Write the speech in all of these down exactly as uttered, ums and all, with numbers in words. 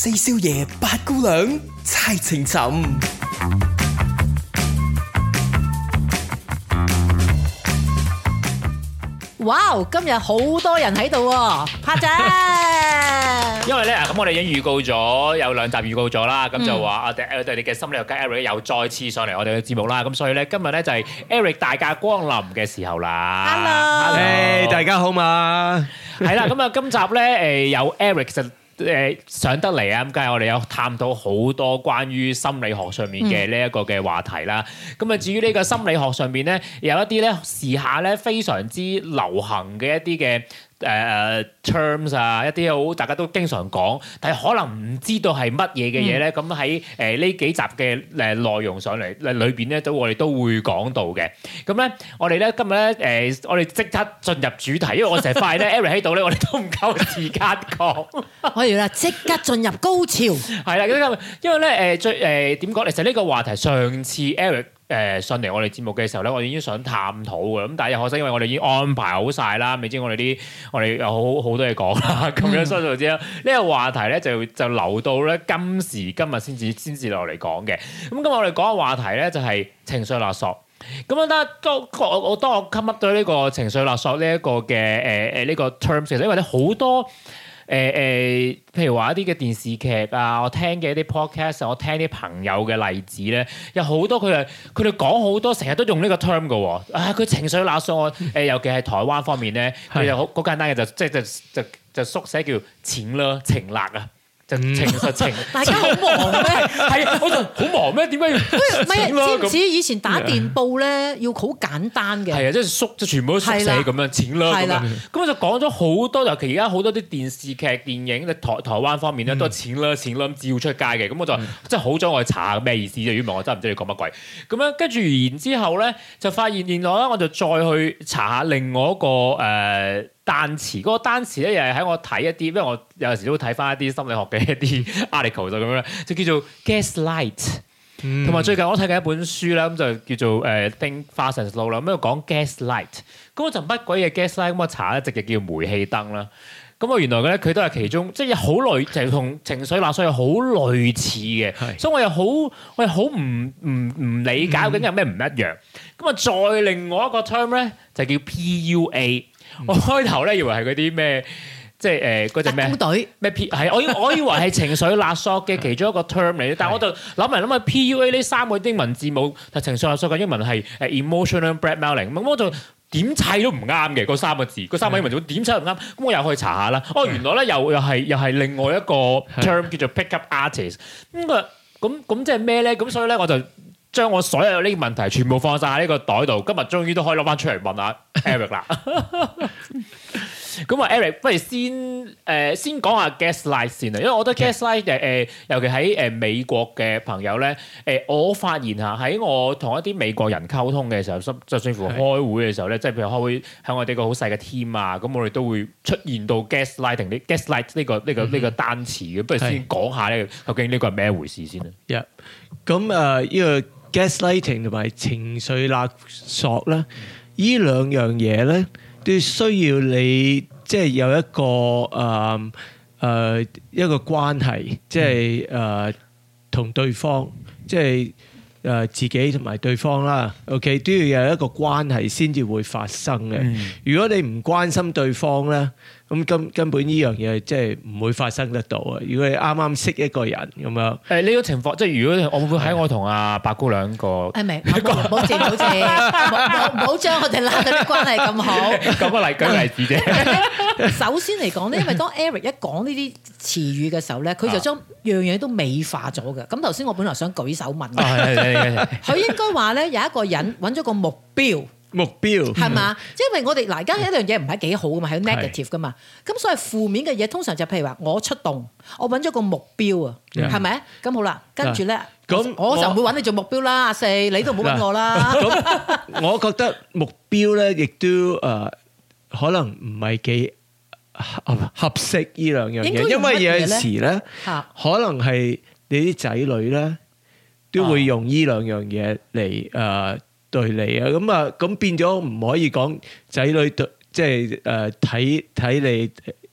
四少爺八姑娘猜情尋。 哇！今日好多人喺度喎，拍仔。 因為咧，咁我哋已經預告咗有兩集預告咗啦，咁就話我哋我哋嘅心理學家 Eric 又再次上嚟我哋嘅節目啦，咁所以咧今日咧就係 Eric 大駕光臨嘅時候啦。 Hello， 誒大家好嘛， 係啦，咁啊今集咧誒有 Eric 其實誒上得嚟啊，咁梗係我哋有探討好多關於心理學上面嘅呢一個嘅話題啦。咁啊至於呢個心理學上邊咧，有一啲咧時下咧非常之流行嘅一啲嘅。誒誒、uh, terms 啊，一啲好大家都經常講，但係可能唔知道係乜嘢嘅嘢咧。咁喺誒呢幾集嘅誒內容上嚟裏邊咧，都我哋都會講到嘅。咁咧，我哋咧今日咧誒，我哋即刻進入主題，因為我成日發現咧 Eric 喺度咧，我哋都唔夠時間講。 我哋啦，即刻進入高潮。 係啦，咁因為咧誒最誒點講？其實呢個話題上次 Eric。誒上嚟我哋節目嘅時候咧，我哋已經想探討嘅，咁但係可惜因為我哋已經安排好晒啦，未知我哋啲我哋有好好多嘢講啦，咁樣所以就知啦。呢個話題咧就就留到咧今時今日先至先至落嚟講嘅。咁今日我哋講嘅話題咧就係情緒勒索。咁樣咧，當我我當我 come up 到呢個情緒勒索呢一個嘅誒誒呢個 terms，其實因為咧好多。誒誒、呃，譬如話一啲嘅電視劇啊，我聽嘅一啲 podcast，我聽啲朋友嘅例子咧，有好多佢哋佢哋講好多，成日都用呢個 term 嘅喎。啊，佢情緒勒索，誒、呃，尤其係台灣方面咧，佢就好好簡單嘅，就即係就就就縮寫叫情勒情勒啊。就情實情， 大家好忙咩？ 係啊，我就好忙咩？點解要唔係知唔知以前打電報咧要好簡單嘅？ 係啊，即係縮，即係全部都縮寫咁樣，錢啦咁樣。咁我就講咗好多，尤其而家好多啲電視劇、電影，台台灣方面咧都係錢啦、錢啦咁照出街嘅。咁我就即係好想我去查下咩意思啫。如果唔係，我真係唔知你講乜鬼。咁樣跟住然之後咧，就發現原來咧，我就再去查下另外一個誒。呃單詞嗰、那個單詞咧，又係喺我睇一啲，因為我有陣時都會睇翻一啲心理學嘅一啲 article 就咁樣，就叫做 gaslight。同埋、嗯、最近我睇緊一本書啦，咁就叫做誒 Think Fast and Slow 啦，咁就講 gaslight。咁我就乜鬼嘢 gaslight？咁我查一直就叫煤氣燈啦。咁我原來咧佢都係其中，即係好類，就係、是、同情緒勒索係好類似嘅。是所以我又好，我又好唔唔唔理解究竟有咩唔一樣。咁啊、嗯，再另外一個 term 咧就叫 P U A。我開頭咧以為係嗰啲咩，即係誒嗰隻咩特工隊咩 P 係我以我以為係情緒勒索嘅其中一個 term 嚟，但係我就諗嚟諗去 P U A 呢三個英文字母，但情緒勒索嘅英文係誒 emotional blackmailing，咁我就點砌都唔啱嘅嗰三個字，嗰三個英文字母點砌都唔啱，咁我又可以查下啦。哦，原來咧又又係又係另外一個 term 叫做 pick up artist。咁啊咁咁即係咩咧？咁所以咧我就將我所有呢啲問題全部放晒喺呢個袋度，今日終於都可以攞翻出嚟問下 Eric 啦。咁啊 ，Eric， 不如先誒、呃、先講下 gaslight 先啊，因為我覺得 gaslight 誒誒、呃，尤其喺誒美國嘅朋友咧，誒、呃、我發現嚇喺我同一啲美國人溝通嘅時候，甚就算乎開會嘅時候咧，即係譬如開會喺我哋個好細嘅 team 啊，咁我哋都會出現到 gaslighting 啲 gaslight 呢個呢個呢個單詞嘅，不如先講下咧，究竟呢個係咩回事先啊？ 咁誒呢個 gaslighting 同埋情緒勒索咧，呢兩樣嘢咧都需要你即係有一個誒誒一個關係，即係誒同對方，即係誒自己同埋對方啦。OK， 都要有一個關係先至會發生嘅。如果你唔關心對方咧，咁根根本呢樣嘢即係唔會發生得到啊！如果你啱啱識一個人咁樣， 誒呢個情況，即係如果我會喺我同阿白姑娘個， 誒明，唔好唔好謝，唔好謝，唔好將我哋拉到啲關係咁好。 講個例舉例子啫。 首先嚟講咧，因為當 Eric 一講呢啲詞語嘅時候咧，佢就將樣樣都美化咗嘅。咁頭先我本來想舉手問嘅，佢應該話咧有一個人揾咗個目標。 目標係嘛？因為我哋嗱，而家一樣嘢唔係幾好噶嘛，係 negative 噶嘛。咁所以負面嘅嘢通常就譬如話我出動，我揾咗個目標啊，係咪？咁好啦，跟住咧，咁我就唔會揾你做目標啦。阿四，你都唔好揾我啦。 咁我覺得目標咧，亦都誒可能唔係幾合合適呢兩樣嘢，因為有陣時咧，可能係你啲仔女咧都會用呢兩樣嘢嚟誒。對你啊，咁啊，咁變咗唔可以講仔女對，即係誒睇睇你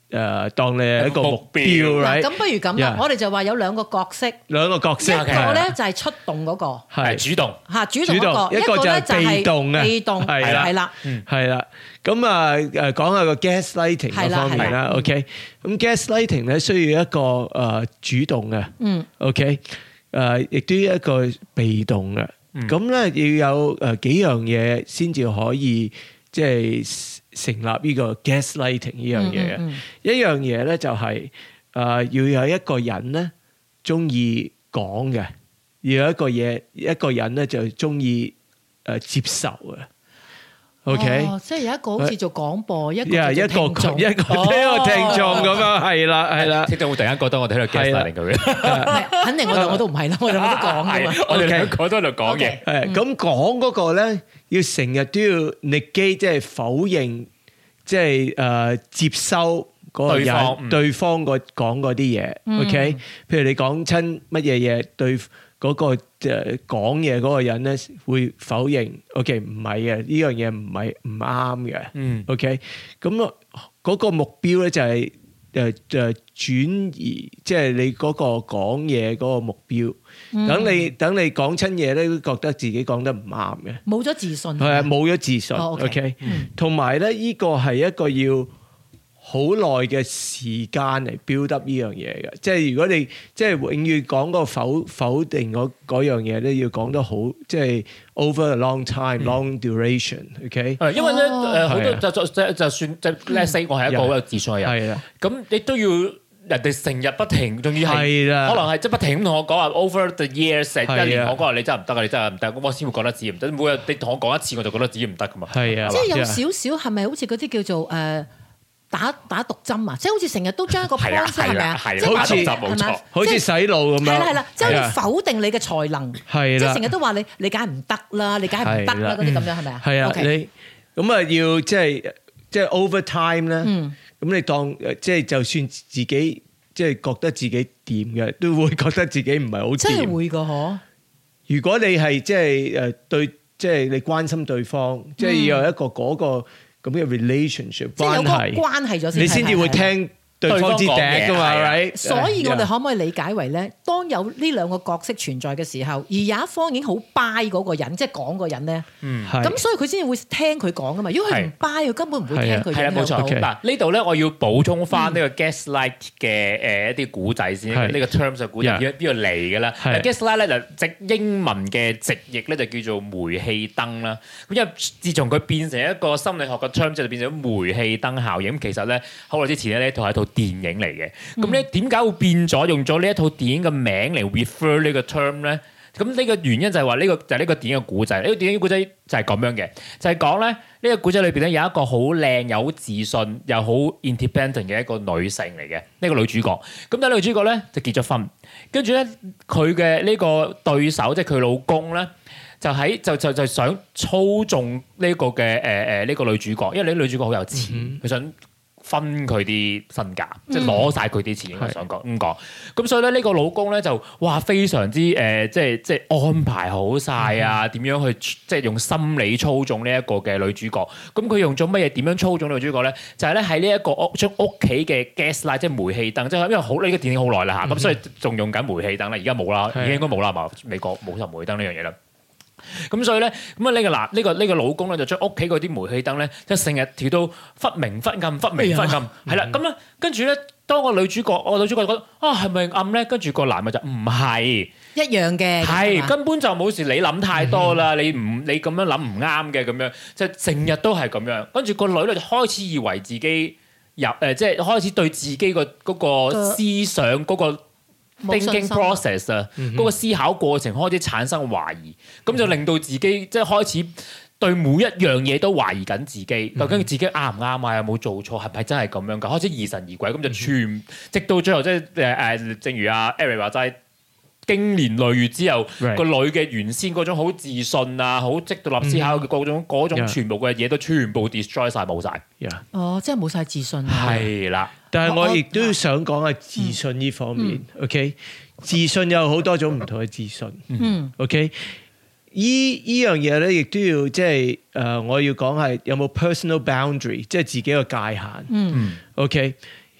誒當你係一個目標嗱， ，right？ 咁不如咁啦， Yeah 我哋就話有兩個角色， 兩個角色， 一個咧就係出動嗰個， 係主動嚇主動嗰個， 一個就咧係被動嘅， 被動係啦係啦， 係啦。咁啊誒講下個 gaslighting 嗰方面啦，OK？咁 gaslighting 咧需要一個誒主動嘅，嗯，OK？誒亦都要一個被動嘅，咁咧要有誒幾樣嘢先至可以即係成立呢個 gaslighting 呢樣嘢嘅。一樣嘢咧就係誒要有一個人咧中意講嘅，要有一個嘢一個人咧就中意誒接受嘅。OK， 哦，即係有一個好似做廣播，一個一個做聽眾， 一個一個聽眾咁樣，係啦係啦。 聽眾會突然間覺得我哋喺度 gaslighting 佢嘅， 肯定我哋我都唔係啦，我哋冇得講噶嘛。 我哋兩個都喺度講嘢。 誒咁講嗰個咧，要成日都要 negate，即係否認，即係誒接收嗰個人對方個講嗰啲嘢。OK，譬如你講親乜嘢嘢對嗰個誒講嘢嗰個人咧會否認 ，OK 唔係嘅，呢樣嘢唔係唔啱嘅。嗯，OK，咁啊嗰個目標咧就係誒誒轉移，即係你嗰個講嘢嗰個目標。等你等你講親嘢咧，都覺得自己講得唔啱嘅， 冇咗自信。 係啊，冇咗自信。 哦 OK，同埋咧呢個係一個要好耐嘅時間嚟 build up 呢樣嘢嘅，即係如果你即係永遠講個否否定嗰嗰樣嘢咧，要講得好，即係 over a long time、long duration，OK？ 係因為咧誒好多就就就就算即係 let's say 我係一個好有自信嘅人， 係啦， 咁你都要人哋成日不停，仲要係係啦， 可能係即係不停咁同我講話 over the years， 係啊一年我講話你真係唔得啊，你真係唔得，咁我先會覺得自己唔得。每日你同我講一次，我就覺得自己唔得噶嘛。 係啊， 即係有少少係咪好似嗰啲叫做誒？打打毒針啊！即係好似成日都將一個 point 係咪啊？即係好似冇錯， 好似洗腦咁樣。 係啦係啦，即係好似否定你嘅才能。 係啦， 即係成日都話你你梗係唔得啦，你梗係唔得啦嗰啲咁樣係咪啊？ 係啊，你咁啊要即係即係 over time 咧。咁你當即係就算自己即係覺得自己掂嘅，都會覺得自己唔係好掂。 真係會㗎嗬！ 如果你係即係誒對，即係你關心對方，即係要有一個嗰個。咁嘅 relationship 關係， 關係咗先， 你先至會聽對方之笛㗎嘛，係咪？ 所以我哋可唔可以理解為咧，當有呢兩個角色存在嘅時候，而有一方已經好 buy 嗰個人，即係講個人咧，咁所以佢先至會聽佢講㗎嘛。如果佢唔 buy，佢根本唔會聽佢。 係啦，冇錯。嗱呢度咧，我要補充翻呢個 gaslight 嘅誒一啲古仔先。呢個 terms 嘅古仔邊邊度嚟嘅咧？gaslight 咧就直英文嘅直譯咧就叫做煤氣燈啦。咁因為自從佢變成一個心理學嘅 terms 就變成煤氣燈效應。咁其實咧好耐之前咧呢套係一套電影嚟嘅，咁咧點解會變咗用咗呢一套電影嘅名嚟 refer 呢個 term 咧？咁呢個原因就係話呢個就係呢個電影嘅古仔，呢個電影古仔就係咁樣嘅，就係講咧呢個古仔裏邊咧有一個好靚又好自信又好 independent 嘅一個女性嚟嘅，呢個女主角。咁但係女主角咧就結咗婚，跟住咧佢嘅呢個對手即係佢老公咧，就喺就就就想操縱呢個嘅誒誒呢個女主角，因為呢女主角好有錢，佢、嗯、想分佢啲身價，即係攞晒佢啲錢。我想講咁講，咁所以咧呢個老公咧就哇非常之誒、呃，即係即係安排好晒啊，點、嗯、樣去即係用心理操縱呢一個嘅女主角。咁佢用咗乜嘢？點樣操縱女主角咧？就係咧喺呢一個屋將屋企嘅 gaslight 即係煤氣燈，即係因為好呢、呢個電影好耐啦嚇，咁、嗯、所以仲用緊煤氣燈啦。而家冇啦，已經應該冇啦嘛。美國冇晒煤氣燈呢樣嘢啦。咁所以咧，咁啊呢個嗱呢個呢個老公咧就將屋企嗰啲煤氣燈咧，即係成日調到忽明忽暗、忽明忽暗，係啦。咁咧跟住咧，當個女主角，我女主角覺得啊係咪暗咧？跟住個男嘅就唔係一樣嘅， 係根本就冇事。你諗太多啦，你唔你咁樣諗唔啱嘅咁樣，即係成日都係咁樣。跟住個女咧就開始以為自己入誒，即係開始對自己個嗰個思想嗰個。thinking process 啊，嗰個思考過程開始產生懷疑，咁、嗯、就令到自己即係開始對每一樣嘢都懷疑緊自己，嗯、究竟自己啱唔啱啊？有冇做錯？係咪真係咁樣㗎？開始疑神疑鬼，咁就全、嗯、直到最後即係誒誒，正如阿 Eric 話齋，經年累月之後，個、right. 女嘅原先嗰種好自信啊，好積獨立思考嘅嗰種嗰、嗯、種全部嘅嘢都全部 destroy 晒冇晒。Yeah. 哦，即係冇晒自信啊！ 係啦。 但係我亦都想講下自信呢方面、嗯、，OK？自信有好多種唔同嘅自信、嗯、，OK？依依樣嘢咧，亦都要即係誒，我要講係有冇 personal boundary， 即係自己嘅界限、嗯、，OK？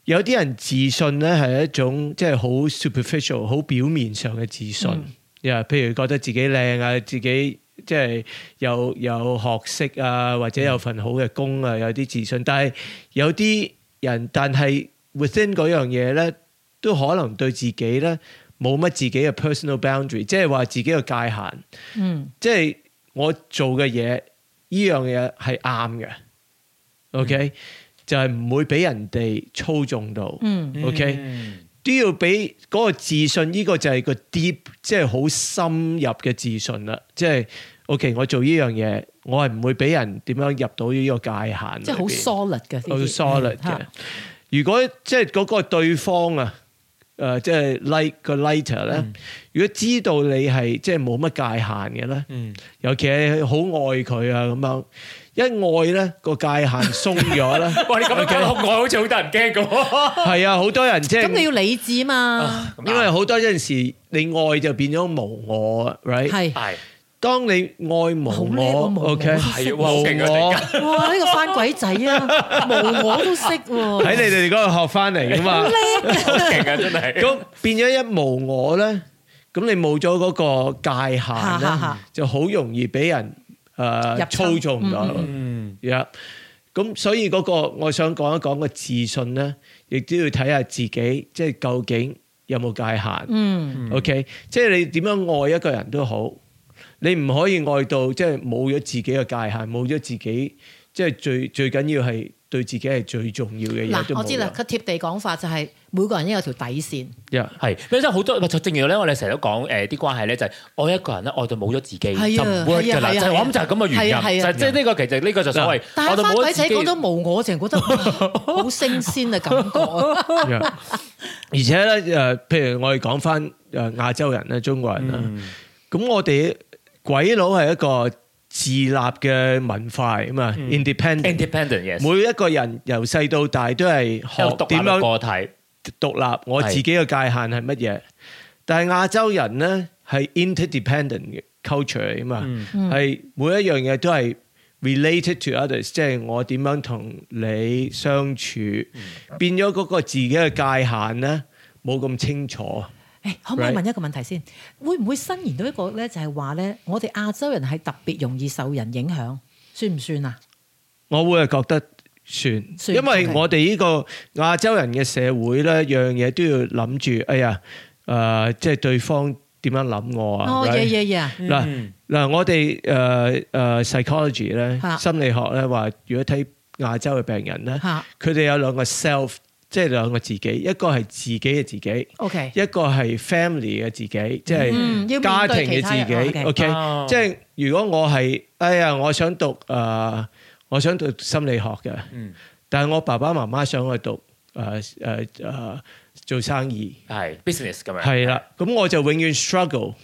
有啲人自信咧係一種即係好 superficial、好表面上嘅自信，呀、嗯，譬如覺得自己靚啊，自己即係有有學識啊，或者有份好嘅工啊，有啲自信。但係有啲人，但係 within 嗰樣嘢咧，都可能對自己咧冇乜自己嘅 personal boundary， 即係話自己嘅界限。嗯，即係我做嘅嘢，呢樣嘢係啱嘅。OK、嗯。就係唔會俾人哋操縱到、嗯、，OK，、嗯、都要俾嗰個自信，呢、這個就係個 deep， 即係好深入嘅自信啦。即係 OK， 我做呢樣嘢，我係唔會俾人點樣入到呢個界限。即係好 solid 嘅，好 solid 嘅。如果即係嗰個對方啊，誒、呃，即係 like 個 lighter 咧、嗯，如果知道你係即係冇乜界限嘅咧、嗯，尤其係好愛佢啊咁樣。一愛咧個界限鬆咗咧，哇！你咁樣講愛好似好得人驚咁。係啊，好多人即係咁你要理智嘛、啊，因為好多陣時你愛就變咗無我 ，right？ 係係。當你愛無我 ，OK， 係無我，哇！呢個翻鬼仔啊，無我都識喎。喺你哋嗰度學翻嚟噶嘛？好叻，好勁啊！真係。咁變咗一無我咧，咁你冇咗嗰個界限咧，就好容易俾人。誒、uh, 操縱咗，嗯，呀，咁所以嗰個我想講一講個自信咧，亦都要睇下自己，即係究竟有冇界限，嗯 ，OK，即係你點樣愛一個人都好，你唔可以愛到即係冇咗自己嘅界限，冇咗自己，即係最最緊要係對自己係最重要嘅嘢。嗱，我知啦，佢貼地講法就係每個人都有條底線。係，因為真係好多，正如咧，我哋成日都講誒啲關係咧，就係愛一個人咧，愛到冇咗自己，就唔 work 㗎啦。就係我諗就係咁嘅原因。就即係呢個其實呢個就所謂。但係翻鬼仔講到無我，淨係覺得好升仙嘅感覺啊！而且咧誒，譬如我哋講翻誒亞洲人咧、中國人啦，咁我哋鬼佬係一個自立嘅文化啊嘛 ，independent，independent，yes。每一個人由細到大都係學點樣個體獨立，我自己嘅界限係乜嘢？但係亞洲人咧係 interdependent 嘅 culture 啊嘛，係每一樣嘢都係 related to others，即係我點樣同你相處，變咗嗰個自己嘅界限咧冇咁清楚。誒，可唔可以問一個問題先？會唔會伸延到一個咧？就係話咧，我哋亞洲人係特別容易受人影響，算唔算啊？我會係覺得算，算因為我哋呢個亞洲人嘅社會咧，樣嘢都要諗住，哎呀，誒、呃，即係對方點樣諗我啊？哦，嘢嘢嘢！嗱嗱，我哋誒誒 psychology 咧，心理學咧話，如果睇亞洲嘅病人咧，佢哋有兩個 self。即係兩個自己，一個係自己嘅自己 ，OK， 一個係 family 嘅自己，即係家庭嘅自己 ，OK， 即係如果我係，哎呀，我想讀誒、呃，我想讀心理學嘅，嗯、但係我爸爸媽媽想去讀誒誒誒做生意，係 business 咁樣，係啦，咁我就永遠 struggle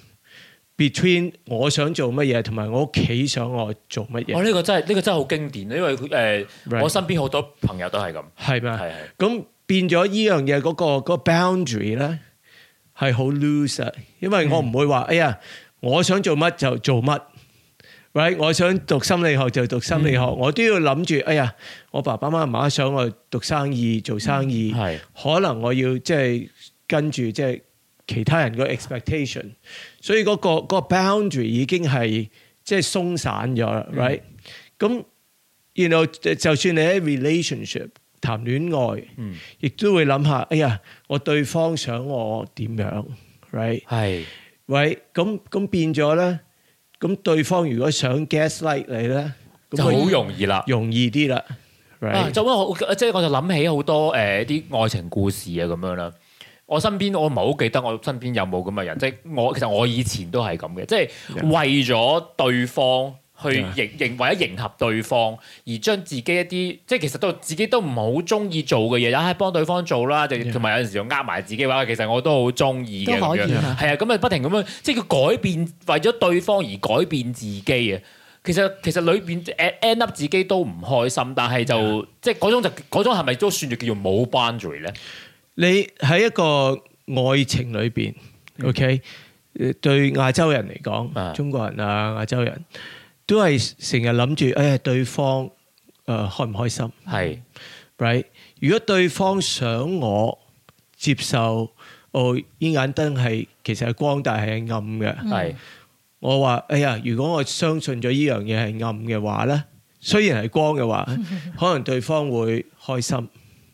between 我想做乜嘢同埋我屋企想我做乜嘢。我呢、哦這個真係呢、這個真係好經典，因為誒、呃 right. 我身邊好多朋友都係咁，係咪？係係咁。變咗依樣嘢嗰個嗰個 boundary 咧係好 loose，因為我唔會話、嗯、哎呀，我想做乜就做乜 ，right？ 我想讀心理學就讀心理學，嗯、我都要諗住，哎呀，我爸爸媽媽想我讀生意做生意，係、嗯、可能我要即係跟住即係其他人個 expectation， 所以嗰、嗰個嗰個 boundary 已經係即係鬆散咗啦 ，right？ 咁然後就算你喺 relationship。談戀愛，亦、嗯、都會諗下，哎呀，我對方想我點樣 ，right？ 係，喂，咁咁變咗咧，咁對方如果想 gaslight 你咧，就好容易啦，容易啲啦 ，right？ 啊，就我即係我就諗起好多誒啲、呃、愛情故事啊咁樣啦。我身邊我唔係好記得我身邊有冇咁嘅人，即係我其實我以前都係咁嘅，即係為咗對方。去迎迎為咗迎合對方，而將自己一啲即係其實都自己都唔係好中意做嘅嘢，又係幫對方做啦，就同埋有陣時又呃埋自己話，其實我都好中意嘅咁樣，係啊，咁啊不停咁樣，即係佢改變為咗對方而改變自己啊。其實其實裏邊 end up 自己都唔開心，但係就即係嗰種就嗰種係咪都算係叫做冇 boundary 咧？你喺一個愛情裏邊、嗯、，OK， 對亞洲人嚟講、嗯，中國人啊，亞洲人。都係成日諗住，誒、哎、對方誒、呃、開唔開心？係， right？ 如果對方想我接受，哦，呢盞燈係其實係光，但係係暗嘅， 係、嗯、 我話：哎呀，如果我相信咗呢樣嘢係暗嘅話咧，雖然係光嘅話，可能對方會開心。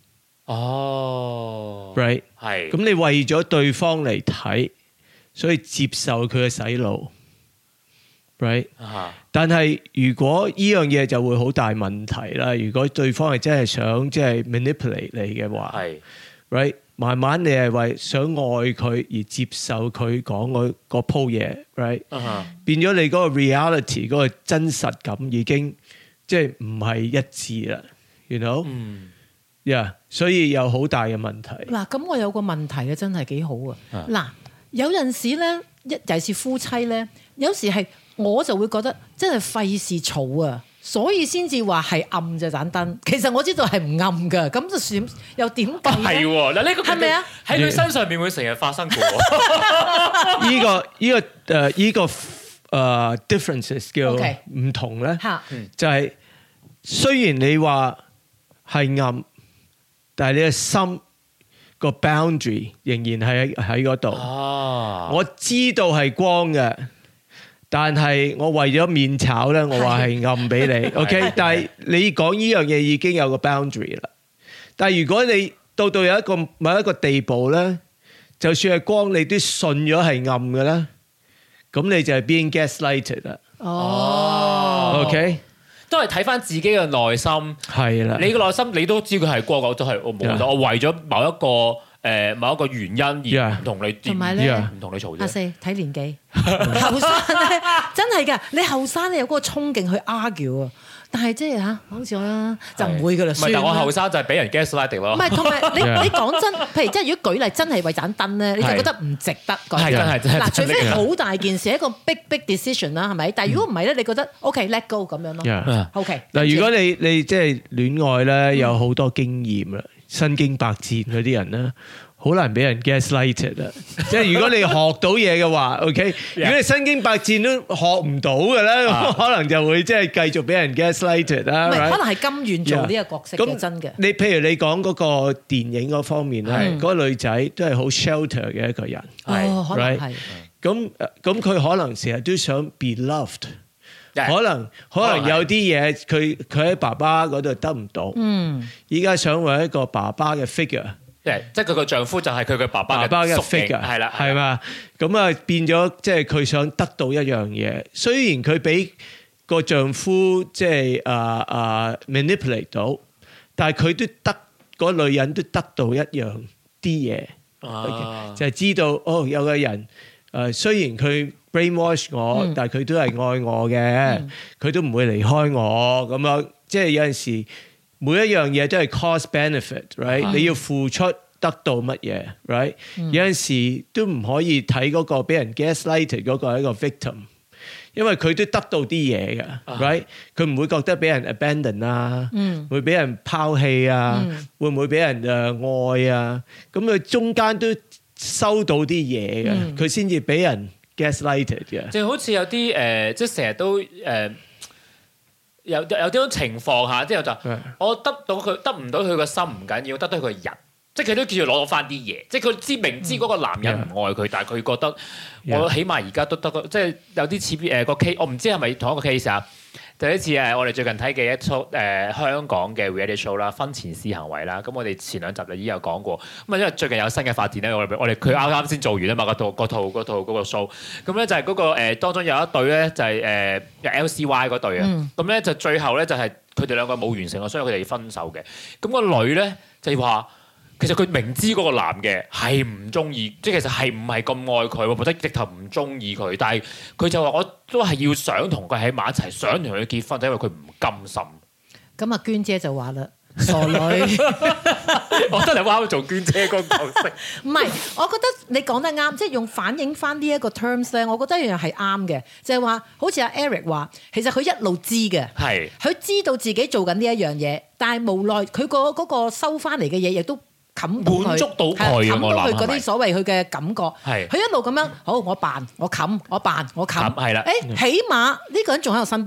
哦 ，right 係。 咁你為咗對方嚟睇，所以接受佢嘅洗腦。Right，、uh-huh. 但係如果呢樣嘢就會好大問題啦。如果對方係真係想即係 manipulate 你嘅話，係 right， 慢慢你係為想愛佢而接受佢講嗰嗰鋪嘢 ，right，、uh-huh. 變咗你嗰個 reality 嗰個真實感已經即係唔係一致啦。You know，嗯，yeah，所以有好大嘅問題。 嗱，咁我有個問題嘅真係幾好啊。嗱、uh-huh.，有陣時咧，一尤其是夫妻咧，有時係。我就會覺得真係費事嘈啊，所以先至話係暗隻盞燈。其實我知道係唔暗㗎，咁就算又點計咧？係喎，嗱呢個係咪啊？喺佢身上面會成日發生過。 呢、呢個呢、呢個誒呢、uh, 呢個誒、uh, differences 叫唔同咧，okay. 就係雖然你話係暗，但係你嘅心個 boundary 仍然係喺嗰度。哦，我知道係光嘅。但係我為咗面炒咧，我話係暗俾你，OK？但係你講呢樣嘢已經有個 boundary 啦。但係如果你到到有一個某一個地步咧，就算係光，你都信咗係暗嘅咧，咁你就係 being gaslighted 啦。哦 ，OK？ 都係睇翻自己嘅內心。係啦，你嘅內心你都知佢係光，我都係我冇錯。我為咗某一個。誒某一個原因而唔同你，同埋咧唔同你嘈啫。阿四睇年紀，後生咧真係㗎，你後生你有嗰個衝勁去 argue 啊，但係即係嚇，好似我啦就唔會㗎啦。唔係，但我後生就係俾人 gaslighting 咯。唔係，同埋你你講真，譬如即係如果舉例真係為盞燈咧，你就覺得唔值得。係真係真係。嗱，除非好大件事，一個 big big decision 啦，係咪？但係如果唔係咧，你覺得 OK let go 咁樣咯。OK。嗱，如果你你即係戀愛咧，有好多經驗啦。身經百戰嗰啲人咧，好難俾人 gaslighted 啊！即係如果你學到嘢嘅話 ，OK， 如果你身經百戰都學唔到嘅咧，啊、可能就會即係繼續俾人 gaslighted 啦。唔係，可能係甘願做呢個角色嘅真嘅。你譬如你講嗰個電影嗰方面咧，嗰、嗰個女仔都係好 shelter 嘅一個人， 哦，可能係。 咁咁佢可能成日都想 be loved。可能可能有啲嘢佢佢喺爸爸嗰度得唔到，嗯，依家想揾一個爸爸嘅 figure，即係佢個丈夫就係佢嘅爸爸嘅 figure，係啦，係嘛，咁啊變咗即係佢想得到一樣嘢，雖然佢俾個丈夫即係啊啊 manipulate 到，但係佢都得嗰女人都得到一樣啲嘢，啊，就係知道哦有個人誒雖然佢brainwash 我，嗯、但係佢都係愛我嘅，佢、嗯、都唔會離開我咁樣。即係有陣時每一樣嘢都係 cost benefit，right？、嗯、你要付出得到乜嘢 ，right？、嗯、有陣時都唔可以睇嗰個俾人 gaslighted 嗰個係一個 victim，因為佢都得到啲嘢嘅 ，right？佢唔會覺得俾人 abandon 啊，嗯、會俾人拋棄啊，嗯、會唔會俾人誒、uh, 愛啊？咁佢中間都收到啲嘢嘅，佢先至俾人 gaslighted 嘅，就好似有啲誒、呃，即係成日都誒、呃，有有啲種情況下，之後就我得到佢得唔到佢個心唔緊要，得到佢個人，即係佢都叫做攞到翻啲嘢，即係佢知明知嗰個男人唔愛佢，嗯、但係佢覺得我起碼而家都得個，即係有啲似誒個 case，我唔知係咪同一個 case 啊？就一次誒，我哋最近睇嘅一出誒、呃、香港嘅 reality show 啦，婚前試行為啦。咁我哋前兩集就已經有講過。咁啊，因為最近有新嘅發展咧，我哋我哋佢啱啱先做完啊嘛，嗰套嗰套嗰套嗰個 show。咁咧就係嗰、嗰個、呃、當中有一對咧就係誒 L C Y 嗰對啊。咁、嗯、咧就最後咧就係佢哋兩個冇完成啊，所以佢哋分手嘅。咁、個女咧就話。其實佢明知嗰個男嘅係唔中意，即係其實係唔係咁愛佢，或者直頭唔中意佢，但係佢就話我都係要想同佢喺埋一齊，想同佢結婚，就因為佢唔甘心。咁阿娟姐就話啦，傻女，我覺得你啱做娟姐嗰個角色。唔係，我覺得你講得啱，即係用反映翻呢一個 terms 咧，我覺得一樣係啱嘅，就係話好似阿 Eric 話，其實佢一路知嘅，係佢知道自己做緊呢一樣嘢，但係無奈佢個嗰個收翻嚟嘅嘢亦都。冚到佢，滿足到佢，冚到佢嗰啲所謂佢嘅感覺。係，佢一路咁樣，好，我扮，我冚，我扮，我冚。係啦。誒，起碼呢個人仲喺我身邊，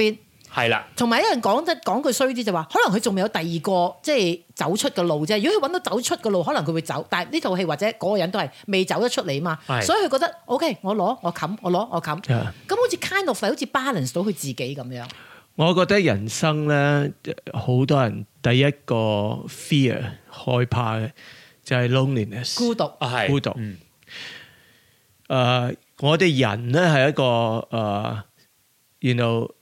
係啦， 同埋一人講得講句衰啲就話，可能佢仲未有第二個即係走出嘅路啫。如果佢揾到走出嘅路，可能佢會走。但係呢套戲或者嗰個人都係未走得出嚟嘛，所以佢覺得 OK， 我攞我冚，我攞我冚。咁 Yeah. 好似 kind of 好似 balance 到佢自己咁樣。 我覺得人生咧，好多人第一個 fear 害怕嘅就係 loneliness 孤獨， 係孤獨。誒、 嗯呃，我哋人咧係一個誒、呃、，you know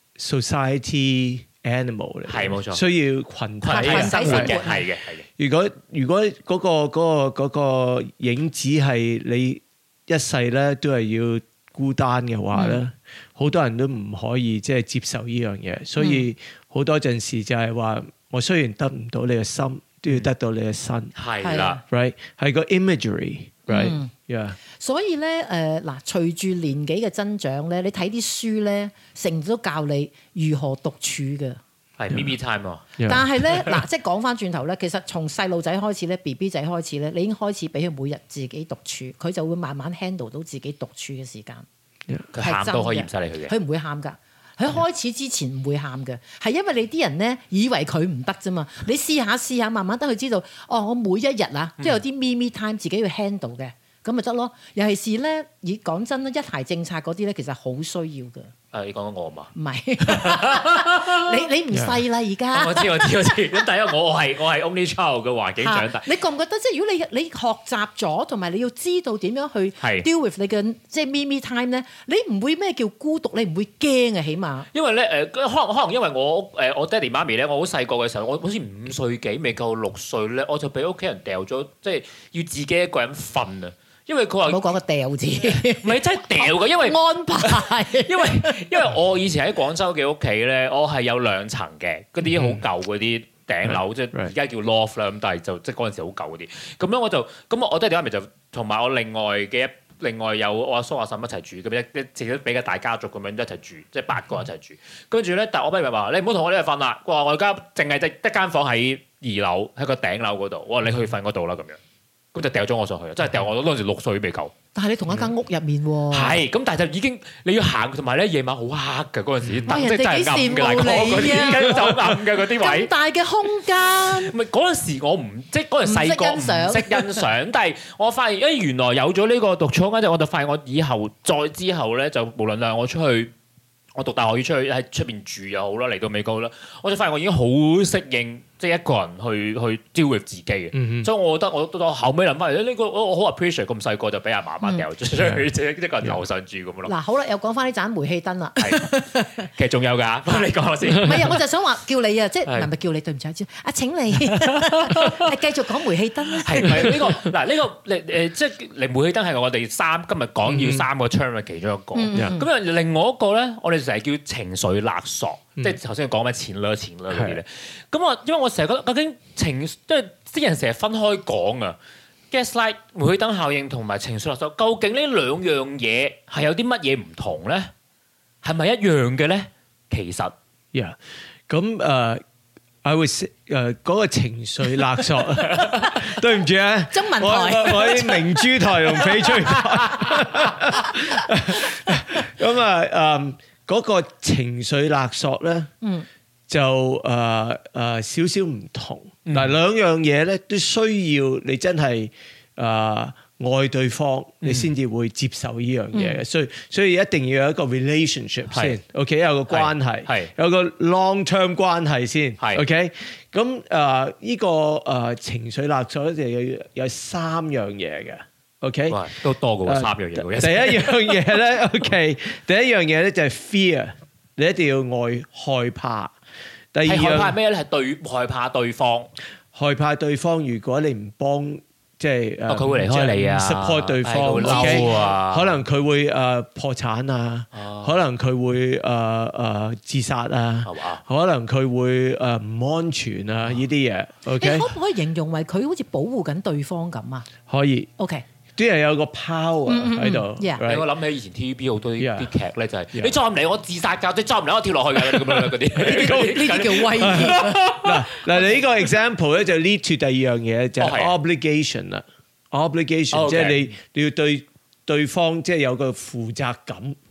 society animal 嚟， 係冇錯， 需要群體係生活嘅， 群體生活係嘅，係嘅。 如果如果嗰、個嗰、個嗰、個影子係你一世咧都係要孤單嘅話咧，好、嗯、多人都唔可以即係接受呢樣嘢，所以好多陣時就係話，我雖然得唔到你嘅心，都要得到你嘅身， 係啦 ，right 係個 imagery，right，yeah、 嗯 yeah. 所以咧誒嗱，隨住年紀嘅增長咧，你睇啲書咧，成日都教你如何獨處嘅。 係 me me time 啊！ Yeah. 但係咧嗱，即係講翻轉頭咧，其實從細路仔開始咧 ，B B 仔開始咧，你已經開始俾佢每日自己獨處，佢就會慢慢 handle 到自己獨處嘅時間。 佢喊都可以唔使理佢嘅， 佢唔會喊㗎。佢開始之前唔會喊嘅，係因為你啲人咧以為佢唔得啫嘛。你試下試下，慢慢等佢知道，哦，我每一日啊，都有啲 me me time 自己要 handle 嘅，咁咪得咯。尤其是咧，以講真啦，一孩政策嗰啲咧，其實好需要嘅。 誒，你講緊我嘛？ 唔係，你你唔細啦而家。 我知我知我知。咁第一，我我係我係 only child 嘅環境長大。 你覺唔覺得即係如果你你學習咗，同埋你要知道點樣去 deal with 你嘅即係 me me time 咧，你唔會咩叫孤獨，你唔會驚啊，起碼。 因為咧誒，可能可能因為我誒我爹哋媽咪咧，我好細個嘅時候，我好似五歲幾未夠六歲咧，我就俾屋企人掉咗，即係要自己一個人瞓啊。因為佢話唔好講個掉字， 唔係真係掉嘅，因為安排。 因為因為我以前喺廣州嘅屋企咧，我係有兩層嘅，嗰啲好舊嗰啲頂樓，即係而家叫 loft 啦，咁但係就即係嗰陣時好舊嗰啲。咁樣我就咁我爹哋媽咪就同埋我另外嘅一另外有我阿叔阿嬸一齊住，咁一一自己比較大家族咁樣一齊住，即係八個人一齊住。跟住咧，但係我媽咪話：你唔好同我呢度瞓啦。佢話我而家淨係得一間房喺二樓，喺個頂樓嗰度。我話你去瞓嗰度啦，咁樣。咁就掉咗我上去，真係掉我嗰陣時六歲都未夠。 但係你同一間屋入面喎。係， 咁但係就已經你要行，同埋咧夜晚好黑㗎嗰陣時，燈即係真係暗嘅， 人哋幾羨慕你啊！ 就暗嘅嗰啲位。 咁大嘅空間。 唔係嗰陣時我唔即係嗰陣細個唔識欣賞，但係我發現誒原來有咗呢個獨處空間之後，我就發現我以後再之後咧，就無論係我出去。我讀大學要出去喺出邊住又好啦，嚟到美國啦，我就發現我已經好適應，即係一個人去去 deal with 自己嘅，嗯、所以我覺得我到後尾諗翻嚟呢個我我好 appreciate 咁細個就俾阿媽媽掉咗出去，即係、嗯、一個人樓上住咁咯。嗱好啦，又講翻呢盞煤氣燈啦。 其實仲有㗎，幫你講先。 唔係啊，我就想話叫你啊，即係唔係咪叫你對唔住啊？請你係繼續講煤氣燈啦。 係咪呢個嗱呢、呢個誒誒即係嚟煤氣燈係我哋三今日講要三個 term 嘅其中一個。咁啊、嗯、另外一個咧，我哋成日叫情緒勒索，嗯、即係頭先講咩錢啦錢啦嗰啲咧。咁我因為我成日覺得究竟情即係啲人成日分開講啊 gaslight 煤氣燈效應同埋情緒勒索，究竟呢兩樣嘢係有啲乜嘢唔同咧？係咪一樣嘅咧？其實 ，yeah，咁誒 I would say 誒嗰個情緒勒索，對唔住啊， 中文台， 我我喺明珠台同翡翠台，咁啊誒嗰個情緒勒索咧，嗯，就誒誒少少唔同，嗱兩樣嘢咧都需要你真係誒。愛對方，你先至會接受呢樣嘢嘅，所以所以一定要有一個 relationship 先，OK，有個關係，有個 long term 關係先，OK，咁誒呢個誒情緒勒索就有有三樣嘢嘅 ，OK， 都多過三樣嘢。 第一樣嘢咧 ，OK，第一樣嘢咧就係 fear，你一定要愛害怕。第二樣害怕咩咧？係對害怕對方， 害怕對方如果你唔幫。即係誒， 佢會離開你啊 ，support 對方， 嬲啊， 可能佢會誒破產啊，可能佢會誒誒自殺啊，可能佢會誒唔安全啊，呢啲嘢。OK， 你可唔可以形容為佢好似保護緊對方咁啊？ 可以。 OK。 啲人有個 power 喺度， 我諗起以前 T V B 好多啲啲劇咧，就係你再唔嚟我自殺㗎，你再唔嚟我跳落去㗎咁樣嗰啲， 呢啲叫威脅。 嗱嗱，你呢個 example 咧就 lead to 第二樣嘢就係 obligation 啦，obligation 即係你你要對對方即係有個負責感。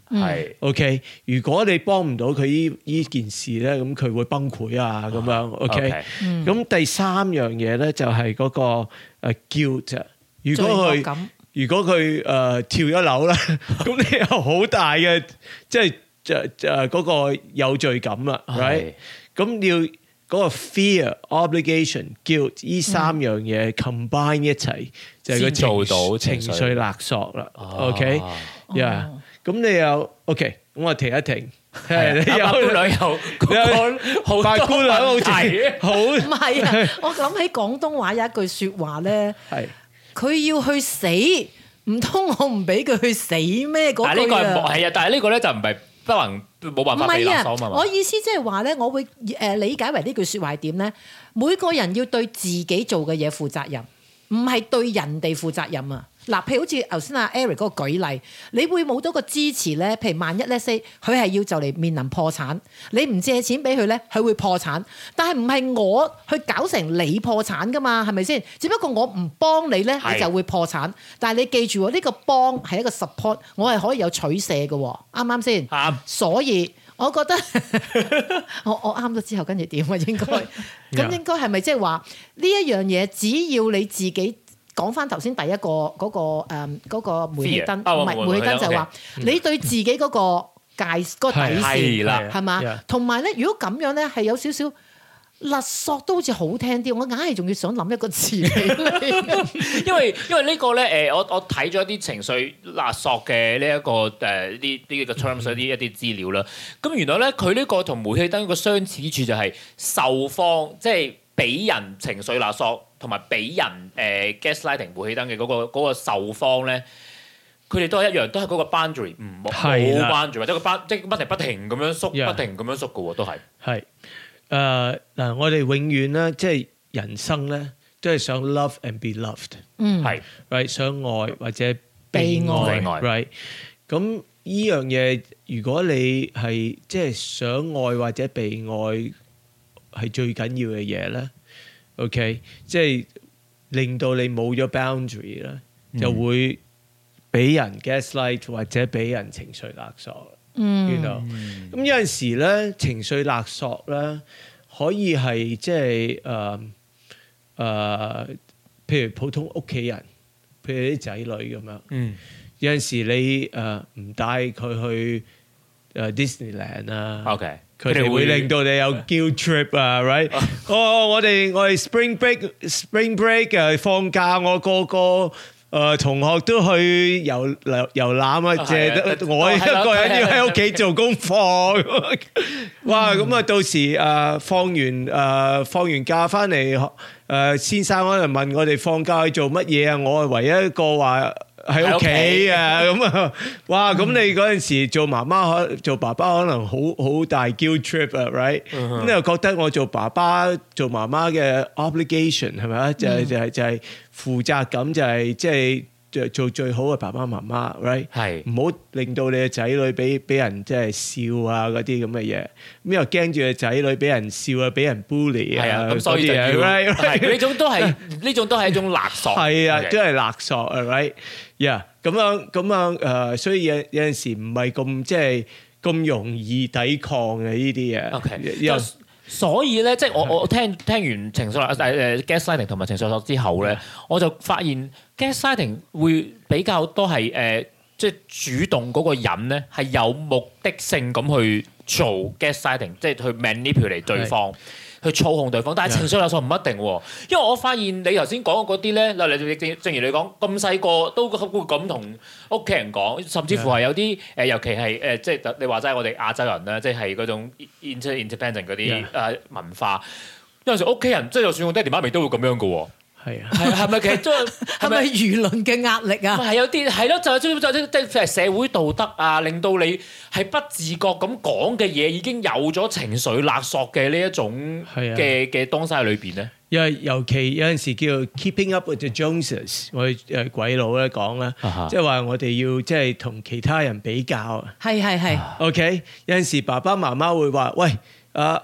係 OK。如果你幫唔到佢依依件事咧，咁佢會崩潰啊咁樣。OK。咁第三樣嘢咧就係嗰個誒 guilt。如果佢如果佢誒跳咗樓啦，咁你有好大嘅即係誒誒嗰個有罪感啦 ，right？咁要嗰個 fear、obligation、guilt 依三樣嘢 combine 一齊，就係個做到情緒勒索啦。OK，yeah。咁你又 OK，咁我停一停。係你有姑娘有好八姑娘好似好唔係啊！我諗起廣東話有一句説話咧，係佢要去死，唔通我唔俾佢去死咩？嗰句啊， 係啊，但係呢個咧就唔係不能冇辦法被勒索嘛。 我意思即係話咧，我會誒理解為呢句説話係點咧？每個人要對自己做嘅嘢負責任，唔係對人哋負責任啊！嗱，譬如好似頭先阿 Eric 嗰個舉例，你會冇到個支持咧。譬如萬一咧 say 佢係要就嚟面臨破產，你唔借錢俾佢咧，佢會破產。但係唔係我去搞成你破產噶嘛？係咪先？只不過我唔幫你咧，你就會破產。但係你記住喎，呢個幫係一個 support，我係可以有取捨嘅，啱啱先？啱。所以我覺得我我啱咗之後，跟住點啊？應該咁應該係咪即係話呢一樣嘢？只要你自己。講翻頭先第一個嗰個誒嗰個煤氣燈，唔係煤氣燈就係話你對自己嗰個界嗰個底線係嘛？同埋咧，如果咁樣咧係有少少勒索都好似好聽啲，我硬係仲要想諗一個字嚟。 因為因為呢個咧誒，我我睇咗一啲情緒勒索嘅呢一個誒呢呢個 terms 一啲一啲資料啦。咁原來咧佢呢個同煤氣燈個相似之處就係受方即係俾人情緒勒索。同埋俾人誒 gaslighting 煤氣燈嘅嗰個嗰個受方咧，佢哋都係一樣，都係嗰個 boundary 唔冇 boundary，或者個 bound 即係不停不停咁樣縮，不停咁樣縮嘅喎，都係。係誒嗱，我哋永遠咧，即係人生咧，都係想 love and be loved， 嗯， 係 right 想愛或者被愛 ，right 咁依樣嘢，如果你係即係想愛或者被愛係最緊要嘅嘢咧。OK， 即係令到你冇咗 boundary 咧，就會俾人 gaslight 或者俾人情緒勒索。嗯，you know？咁有陣時咧，情緒勒索咧可以係即係誒誒，譬如普通屋企人，譬如啲仔女咁樣。嗯，有陣時你誒唔帶佢去誒 Disneyland 啊。 OK。 佢哋會令到你有 guilt trip 啊 ，right？哦，我哋我哋 spring break，spring break 誒放假，我個個誒同學都去遊遊遊覽啊，淨係我一個人要喺屋企做功課。哇！咁啊，到時誒放完誒放完假翻嚟，誒先生可能問我哋放假去做乜嘢啊？我係唯一一個話。喺屋企啊，咁啊，哇！咁你嗰陣時做媽媽可做爸爸可能好好大 guilt trip 啊 ，right？咁你又覺得我做爸爸做媽媽嘅 obligation 係咪啊？就係就係就係負責感，就係即係做最好嘅爸爸媽媽 ，right？係唔好令到你嘅仔女俾俾人即係笑啊嗰啲咁嘅嘢，咁又驚住個仔女俾人笑啊，俾人 bully 啊， 咁所以就要呢種都係呢種都係一種勒索， 係啊，都係勒索啊 ，right？呀，咁樣咁樣誒，所以有有陣時唔係咁即係咁容易抵抗嘅呢啲嘢。 OK，所以咧，即係我我聽聽完情緒勒誒誒 gaslighting 同埋情緒勒索之後咧，我就發現 gaslighting 會比較多係誒，即係主動嗰個人咧係有目的性咁去做 gaslighting，即係去 manipulate 對方。去操控對方，但係情緒勒索唔一定喎，因為我發現你頭先講嘅嗰啲咧，例如正正如你講咁細個都會咁同屋企人講，甚至乎係有啲誒，尤其係誒，即係你話齋我哋亞洲人咧，即係嗰種 inter-independent 嗰啲誒文化，有陣時屋企人即係就算我爹哋媽咪都會咁樣嘅喎。係啊，係係咪其實都係咪輿論嘅壓力啊？ 係有啲係咯，就係即係即係社會道德啊，令到你係不自覺咁講嘅嘢已經有咗情緒勒索嘅呢一種嘅嘅東西喺裏邊咧。 因為尤其有陣時叫 keeping up with the Joneses， 我哋誒鬼佬咧講啦，即係話我哋要即係同其他人比較。 係係係。 OK，有陣時爸爸媽媽會話：喂，啊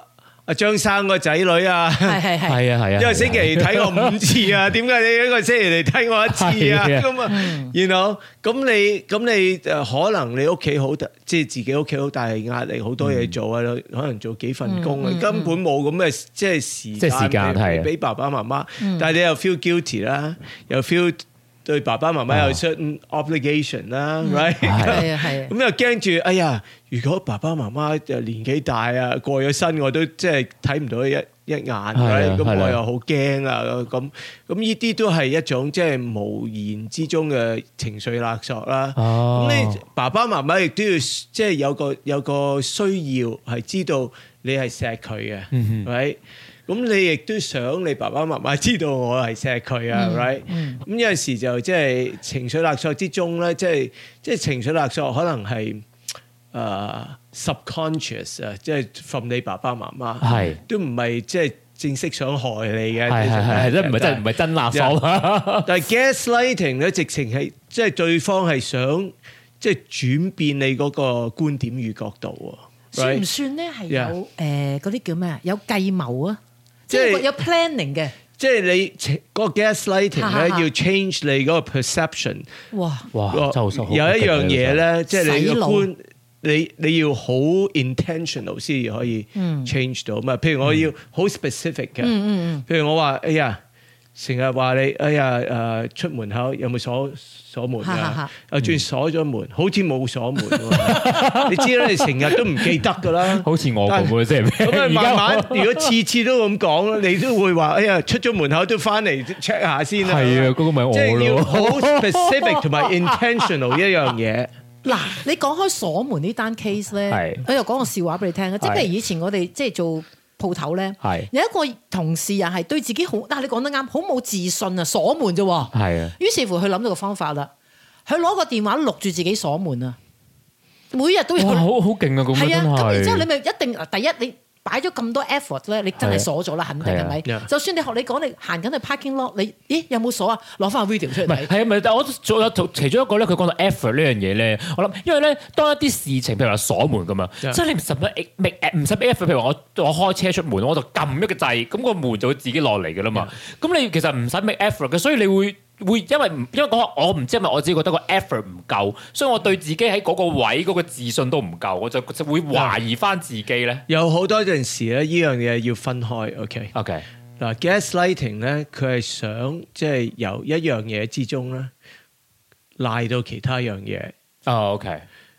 阿張生個仔女啊， 係係係， 係啊係啊， 一個星期睇我五次啊，點解你一個星期嚟睇我一次啊？咁啊，然後咁你咁你誒可能你屋企好大，即係自己屋企好大壓力，好多嘢做啊，可能做幾份工啊，根本冇咁嘅即係時即係時間係俾爸爸媽媽，但係你又 feel guilty 啦，又 feel。對爸爸媽媽有 certain obligation 啦 ，right？ 係啊係啊， 咁又驚住，哎呀！如果爸爸媽媽就年紀大啊，過咗身，我都即係睇唔到一一眼，咁我又好驚啊！咁咁呢啲都係一種即係無言之中嘅情緒勒索啦。咁你爸爸媽媽亦都要即係有個有個需要係知道你係錫佢嘅，right？咁你亦都想你爸爸媽媽知道我係錫佢啊 ，right？咁有陣時就即係情緒勒索之中咧，即係即係情緒勒索可能係誒 subconscious 啊，即係 from 你爸爸媽媽，係都唔係即係正式想害你嘅， 係係係，即係唔係真唔係真勒索。 但係 gaslighting 咧，直情係即係對方係想即係轉變你嗰個觀點與角度喎， 算唔算咧係有誒嗰啲叫咩啊？有計謀啊？即係有 planning 嘅， 即係你嗰個 gaslighting 咧，要 change 你嗰個 perception。哇哇， 有一樣嘢咧，即係你個觀，你你要好 intentional 先至可以 change 到嘛。譬如我要好 specific 嘅，譬如我話，哎呀，成日話你，哎呀誒出門口有冇鎖鎖門㗎？啊，轉鎖咗門，好似冇鎖門喎。你知啦，你成日都唔記得㗎啦。 好似我咁嘅，即係咩？ 咁啊，慢慢如果次次都咁講，你都會話：哎呀，出咗門口都翻嚟 check 下先啦。 係啊，嗰個咪我咯。 即係要好 specific 同埋 intentional 一樣嘢。 嗱，你講開鎖門呢單 case 咧，我又講個笑話俾你聽啊！即係譬如以前我哋即係做鋪頭咧，有一個同事又係對自己好，但係你講得啱，好冇自信啊，鎖門啫喎。係啊。於是乎佢諗到個方法啦，佢攞個電話錄住自己鎖門啊，每日都有。哇！好好勁啊！咁樣係啊，咁然之後你咪一定第一你擺咗咁多 effort 咧，你真係鎖咗啦，肯定係咪？就算你學你講，你行緊去 parking lot，你咦有冇鎖啊？攞翻個 video 出嚟睇。係啊，咪但係我仲有其中一個咧，佢講到 effort 呢樣嘢咧，我諗因為咧當一啲事情，譬如話鎖門咁啊，即係你唔使乜唔使 effort，譬如話我我開車出門，我就撳一個掣，咁個門就會自己落嚟㗎啦嘛。咁你其實唔使 make effort 嘅，所以你會。會因為唔因為講我唔知係咪我自己覺得個 effort 唔夠，所以我對自己喺嗰個位嗰個自信都唔夠，我就就會懷疑翻自己咧。有好多陣時咧，呢樣嘢要分開。OK OK 嗱 gaslighting 咧，佢係想即係由一樣嘢之中咧賴到其他樣嘢。哦 OK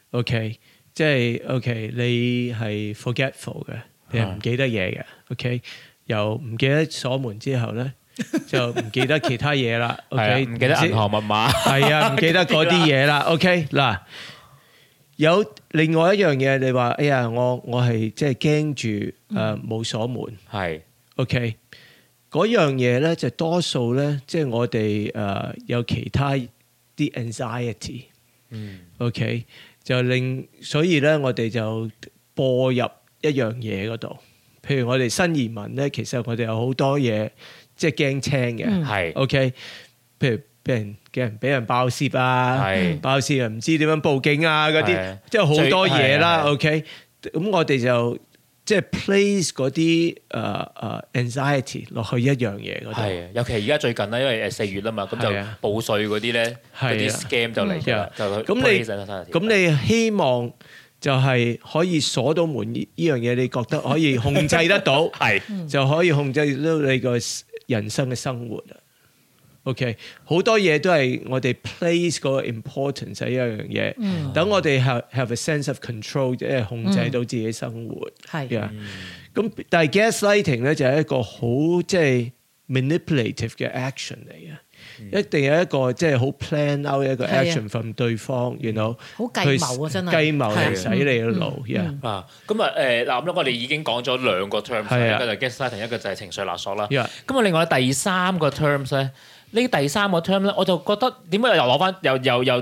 OK 即係 OK 你係 forgetful 嘅，你係唔記得嘢嘅。OK 由唔記得鎖門之後咧。就唔記得其他嘢啦 ，OK，唔記得銀行密碼，係啊，唔記得嗰啲嘢啦 ，OK，嗱，有另外一樣嘢，你話，哎呀，我我係即係驚住誒冇鎖門，係 ，OK，嗰樣嘢咧就多數咧，即係我哋誒有其他啲 anxiety，嗯 ，OK，就令所以咧我哋就播入一樣嘢嗰度，譬如我哋新移民咧，其實我哋有好多嘢。即係驚青嘅，係 OK。譬如俾人嘅人俾人爆竊啊，爆竊啊，唔知點樣報警啊嗰啲，即係好多嘢啦。OK，咁我哋就即係 place 嗰啲誒誒 anxiety 落去一樣嘢嗰度。係，尤其係而家最近咧，因為誒四月啦嘛，咁就報稅嗰啲咧，嗰啲 scam 就嚟咗，就咁你咁你希望就係可以鎖到門呢呢樣嘢，你覺得可以控制得到，係就可以控制到你個人生嘅生活啊 ，OK， 好多嘢都係我哋 place 嗰個 importance 喺一樣嘢，等、嗯、我哋 have have a sense of control， 即係控制到自己生活，係啊、嗯，咁但係 gaslighting 咧就係一個好即係 manipulative 嘅 action 嚟嘅。一定有一個即係好 plan out 一個 action from 對方，然後好計謀啊，真係計謀嚟洗你嘅腦啊！咁啊誒嗱咁咧，我哋已經講咗兩個 terms，一個就係 gaslighting，一個就係情緒勒索啦。咁啊，另外第三個 terms 咧，呢第三個 term 咧，我就覺得點解又攞翻又又又又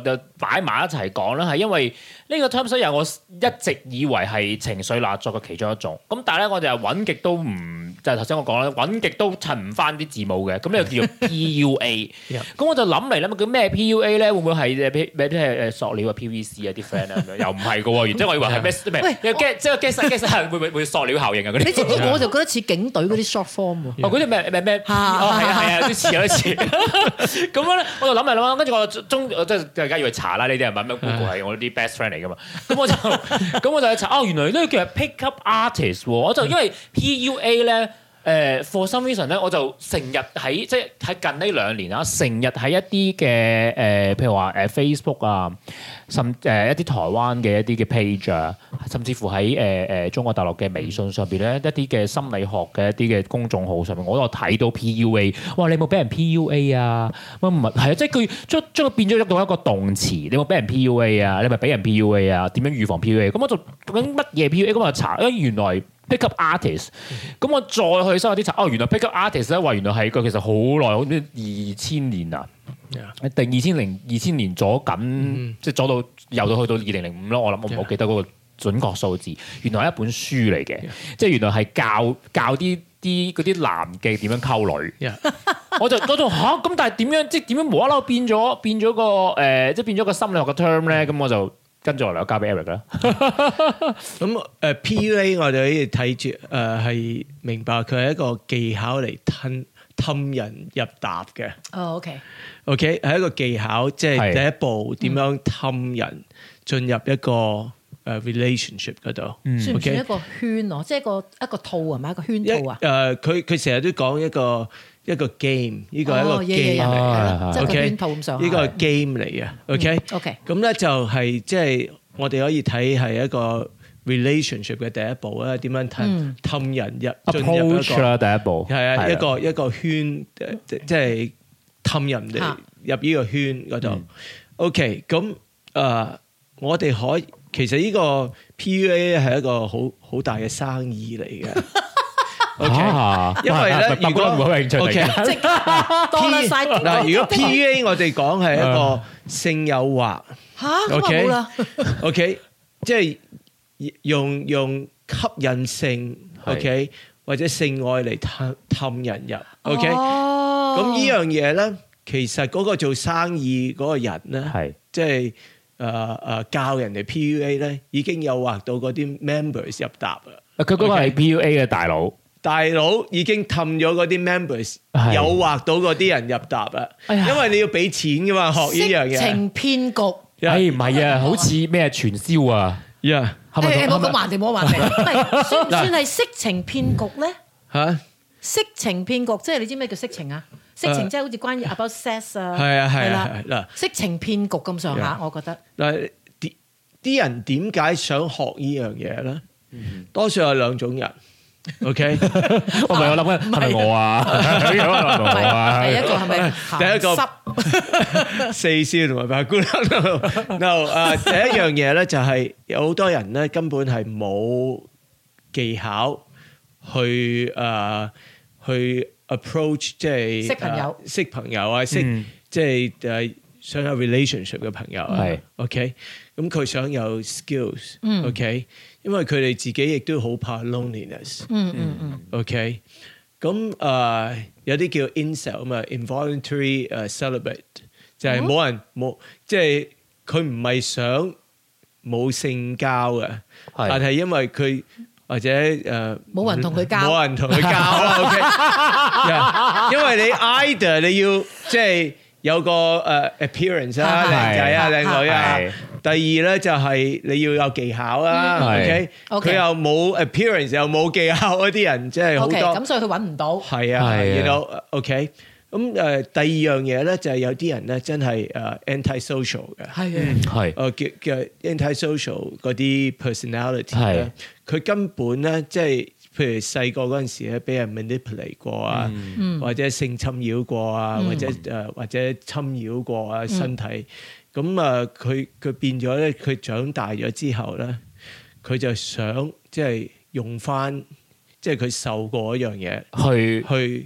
擺埋一齊講咧，係因為呢個 term 有我一直以為係情緒勒索嘅其中一種。咁但係咧，我哋又揾極都唔，就係頭先我講啦，揾極都襯唔翻啲字母嘅。咁呢個叫做 P U A。咁我就諗嚟諗，叫咩 P U A 咧？會唔會係誒咩即係誒塑料啊 P V C 啊啲 friend 啊咁樣？又唔係嘅喎，原即係我以為係咩咩？即係即係 gas gas 會唔會會塑料效應啊嗰啲？ 你知唔知我就覺得似警隊嗰啲 short form 喎？ 哦，嗰啲咩咩咩？哦，係啊係啊，有啲似有啲似。咁樣咧，我就諗嚟諗，跟住我中即係大家要去查啦，呢啲係咪咩 Google 係我啲 best friend 嚟噶嘛？咁我就咁我就去查，哦，原來呢個叫 pick up artist 喎。我就因為 P U A 咧。誒 for some reason 咧，我就成日喺即係喺近呢兩年啦，成日喺一啲嘅誒，譬如話誒 Facebook 啊，甚誒一啲台灣嘅一啲嘅 page 啊，甚至乎喺誒誒中國大陸嘅微信上邊咧，一啲嘅心理學嘅一啲嘅公眾號上面，我都有睇到 P U A。哇！你有冇俾人 P U A 啊？乜唔係係啊？即係佢將將佢變咗到一個動詞。你有冇俾人 P U A 啊？你咪俾人 P U A 啊？點樣預防 P U A？咁我就究竟乜嘢 P U A？咁我就查，因為原來。Pick up artist，咁我再去收下啲查，哦，原來 pick up artist 咧話原來係個其實好耐，好似二千年啊，定二千零二千年咗緊，即係咗到由到去到二零零五咯。我諗我唔好記得嗰個準確數字。原來係一本書嚟嘅，即係原來係教教啲啲嗰啲男嘅點樣溝女。我就嗰種嚇咁，但係點樣即係點樣無啦啦變咗變咗個誒，即係變咗個心理學嘅 term 咧？咁我就。跟住落嚟，我交俾 Eric 啦。 咁誒 P U A 我哋可以睇住誒係明白佢係一個技巧嚟氹氹人入搭嘅。 哦 ，OK，OK，、 okay? okay? 係一個技巧，即係第一步點樣氹人進入一個誒 relationship 嗰度。 嗯、算唔算一個圈哦？即係一個一個套係咪一個圈套啊？ 誒，佢佢成日都講一個。一個 game，呢個係一個 game 嚟嘅，OK，呢個係 game 嚟嘅 ，OK，OK，咁咧就係即係我哋可以睇係一個 relationship 嘅第一步啦，點樣氹氹人入進入一個第一步， 係啊，一個一個圈，即係氹人哋入呢個圈嗰度。OK，咁誒，我哋可以其實呢個 P U A 係一個好好大嘅生意嚟嘅。OK，因為咧，如果 OK，多晒嗱，如果 P U A 我哋講係一個性誘惑嚇，OK 啦 ，OK，即係用用吸引性 ，OK，或者性愛嚟氹氹人入 ，OK，咁呢樣嘢咧，其實嗰個做生意嗰個人咧，係即係誒誒教人哋 P U A 咧，已經誘惑到嗰啲 members 入搭啦。 佢嗰個係 P U A 嘅大佬。 大佬已經氹咗嗰啲 members， 誘惑到嗰啲人入搭啦。因為你要俾錢噶嘛，學呢樣嘢。 色情騙局， 哎唔係啊，好似咩傳銷啊， 呀， 係咪？我講橫掂，我橫掂，唔係算唔算係色情騙局咧？嚇，色情騙局即係你知咩叫色情啊？色情即係好似關於 about sex 啊， 係啊係啊嗱， 色情騙局咁上下，我覺得嗱啲啲人點解想學呢樣嘢咧？多數有兩種人。OK， 我咪我諗緊係咪我啊？係咪我啊？ 第一個係咪第一個四少同埋八姑娘 ？No 啊，第一樣嘢咧就係有好多人咧根本係冇技巧去誒去 approach 即係識朋友、 識朋友啊，識即係誒想有 relationship 嘅朋友係 OK，咁佢想有 skills，OK。因為佢哋自己亦都好怕 loneliness， 嗯嗯嗯 ，OK，咁誒、uh, 有啲叫 incel 嘛 ，involuntary 誒、uh, celibate，就係冇人冇，即係佢唔係想冇性交嘅，但係因為佢或者誒冇、 uh, 人同佢交， 冇人同佢交啦，OK， yeah, 因為你 either 你要即係有個誒、uh, appearance 啊，靚仔啊，靚女啊。第二咧就係你要有技巧啦 ，OK，佢又冇 appearance 又冇技巧嗰啲人，即係好多， 咁所以佢揾唔到。 係啊，係，you know，OK，咁誒第二樣嘢咧就係有啲人咧真係誒 anti-social 嘅， 係嘅， 係， 誒叫叫 anti-social 嗰啲 personality 咧，佢根本咧即係譬如細個嗰陣時咧俾人 manipulate 過啊，或者性侵擾過啊，或者誒或者侵擾過啊身體。咁啊，佢佢變咗咧，佢長大咗之後咧，佢就想即係用翻，即係佢受過一樣嘢，去去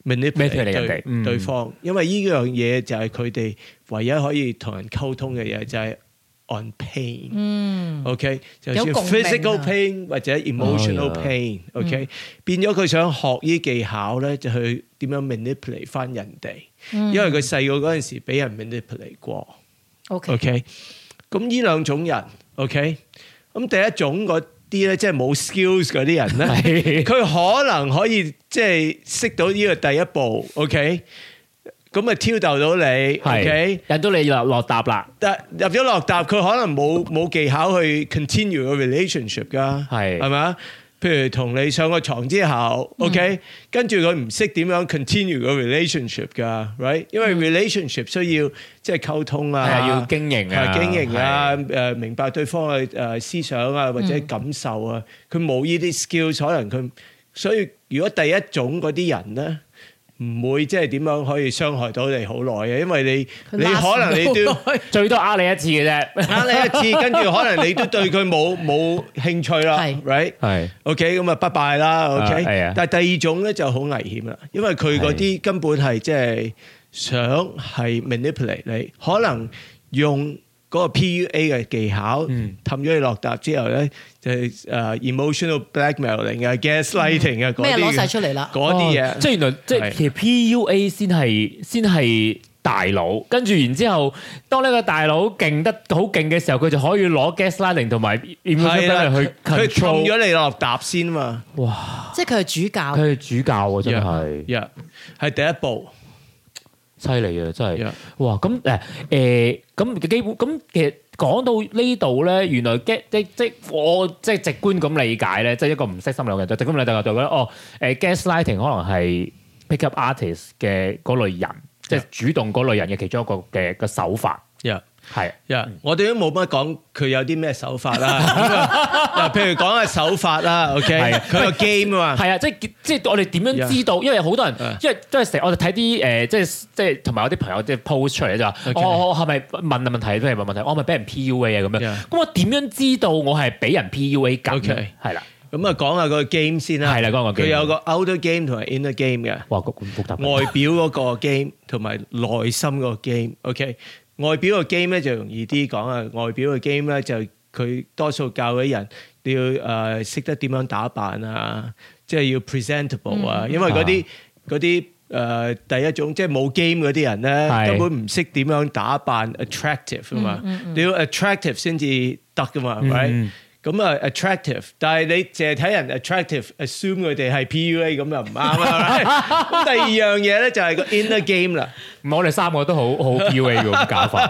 manipulate 人哋對對方，因為呢樣嘢就係佢哋唯一可以同人溝通嘅嘢，就係 on pain。嗯，OK， 就算 physical pain 或者 emotional pain，OK， 變咗佢想學呢技巧咧，就去點樣 manipulate 翻人哋，因為佢細個嗰陣時俾人 manipulate 過。OK，咁呢兩種人 ，OK， 咁第一種嗰啲咧，即係冇 skills 嗰啲人咧，佢可能可以即係識到呢個第一步 ，OK， 咁啊挑逗到你 ，OK， 引到你落落搭啦。 但入咗落搭，佢可能冇冇技巧去 continue 個 relationship 噶，係係咪啊？譬如同你上個床之後 ，OK， 跟住佢唔識點樣 continue 個 relationship 㗎 ，right？ 因為 relationship 需要即係溝通啊， 要經營啊， 經營啊，誒明白對方嘅誒思想啊或者感受啊，佢冇呢啲 skills， 可能佢所以如果第一種嗰啲人咧。唔會即係點樣可以傷害到你好耐嘅，因為你你可能你都最多呃你一次嘅啫， 呃你一次，跟住可能你都對佢冇冇興趣啦，right？ 係 OK， 咁啊拜拜啦 ，OK。但係第二種咧就好危險啦，因為佢嗰啲根本係即係想係 manipulate 你，可能用嗰個 P U A 嘅技巧氹咗你落搭之後咧，就係誒 emotional blackmailing 啊、gaslighting 啊嗰啲咩攞曬出嚟啦， 嗰啲嘢， 即係原來即係其實 P U A 先係先係大佬，跟住然之後，當呢個大佬勁得好勁嘅時候，佢就可以攞 gaslighting 同埋 emotional blackmail 去 control 佢氹咗你落搭先嘛。 哇！ 即係佢係主教， 佢係主教喎，真係， 係係第一步。 犀利啊！真係，哇！咁誒誒，咁基本咁其實講到呢度咧，原來 get 即即我即係直觀咁理解咧，即係一個唔識心理嘅人，就直觀理解就覺得哦誒 gaslighting 可能係 pick up artist 嘅嗰類人，即係主動嗰類人嘅其中一個嘅嘅手法。係， 呀！我哋都冇乜講佢有啲咩手法啦。嗱，譬如講下手法啦 ，OK， 佢個 game 啊嘛。 係啊，即係即係我哋點樣知道？因為好多人，因為都係成，我哋睇啲誒，即係即係同埋有啲朋友即係 post 出嚟就話，我我係咪問問題？譬如問問題，我係咪俾人 P U A 啊？咁樣，咁我點樣知道我係俾人 P U A 緊？係啦，咁啊講下個 game 先啦。係啦，講個 game。佢有個 outer game 同埋 inner game 嘅。哇，咁複雜。外表嗰個 game 同埋內心嗰個 game，OK。外表嘅 game 咧就容易啲講啊，外表嘅 game 咧就佢多數教嗰啲人你要誒識得點樣打扮啊，即係要 presentable 啊，因為嗰啲嗰啲誒第一種即係冇 game 嗰啲人咧根本唔識點樣打扮 attractive 啊嘛，你要 attractive 先至得噶嘛，係咪？咁啊 attractive， 但係你淨係睇人 attractive，assume 佢哋係 P U A 咁又唔啱啦。咁第二樣嘢咧就係個 inner game 啦。唔係我哋三個都好好 P U A 嘅咁搞法。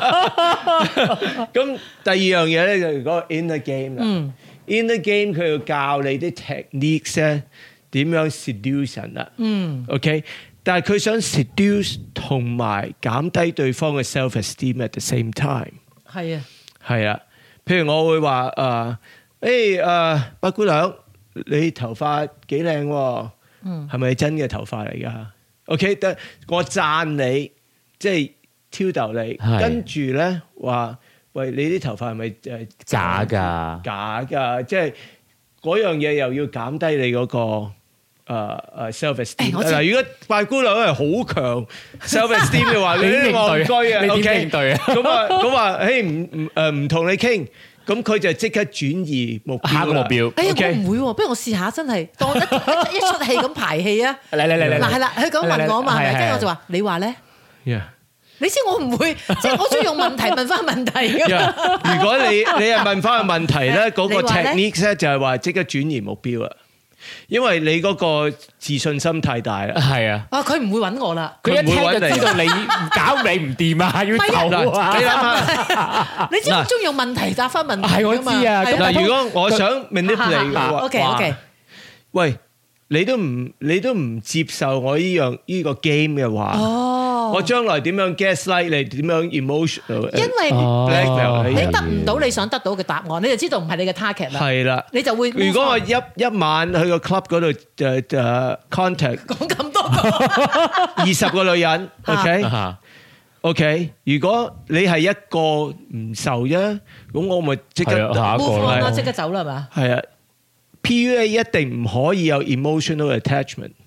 咁第二樣嘢咧就係嗰個 inner game 啦。inner game 佢要教你啲 techniques 咧點樣 seduce 人啦。嗯。OK， 但係佢想 seduce 同埋減低對方嘅 self-esteem at the same time。 係啊。係啊。譬如我會話誒，誒誒，八姑娘，你頭髮幾靚喎？嗯，係咪真嘅頭髮嚟㗎 ？OK， 得我讚你，即係挑逗你，跟住咧話，喂，你啲頭髮係咪誒假㗎？ 假㗎，即係嗰樣嘢又要減低你嗰個誒誒 self-esteem。嗱，如果八姑娘係好強 self-esteem 嘅話，你啲戇居啊 ，OK， 咁啊咁話，誒唔唔誒唔同你傾。咁佢就即刻轉移目標啦。目標。 哎呀，我唔會喎，不如我試下真係當一一出戲咁排戲啊！ 嚟嚟嚟嚟！ 嗱係啦，佢咁問我嘛，係咪？跟住我就話：你話咧？你知我唔會，即係我中意用問題問翻問題㗎。 如果你你係問翻個問題咧，嗰個 technique 咧就係話即刻轉移目標啦。因為你嗰個自信心太大啦，係啊， 啊佢唔會揾我啦， 佢一聽就知道你搞你唔掂啊，要走啊！ 你諗下，你知我中意用問題答翻問題， 係我知啊。 嗱，如果我想 manipulate 嘅話 ，OK OK， 喂，你都唔你都唔接受我呢樣呢個 game 嘅話，哦，我將來點樣 gaslight 你，點樣 emotional？ 因為你得唔到你想得到嘅答案，你就知道唔係你嘅 target 啦。係啦，你就會。 如果我一一晚去個 club 嗰度就就 contact 講咁多個二十個女人 ，OK OK。如果你係一個唔受啫，咁我咪即刻下一個啦， 即刻走啦，係嘛？ 係啊。P U A 一定唔可以有 emotional attachment，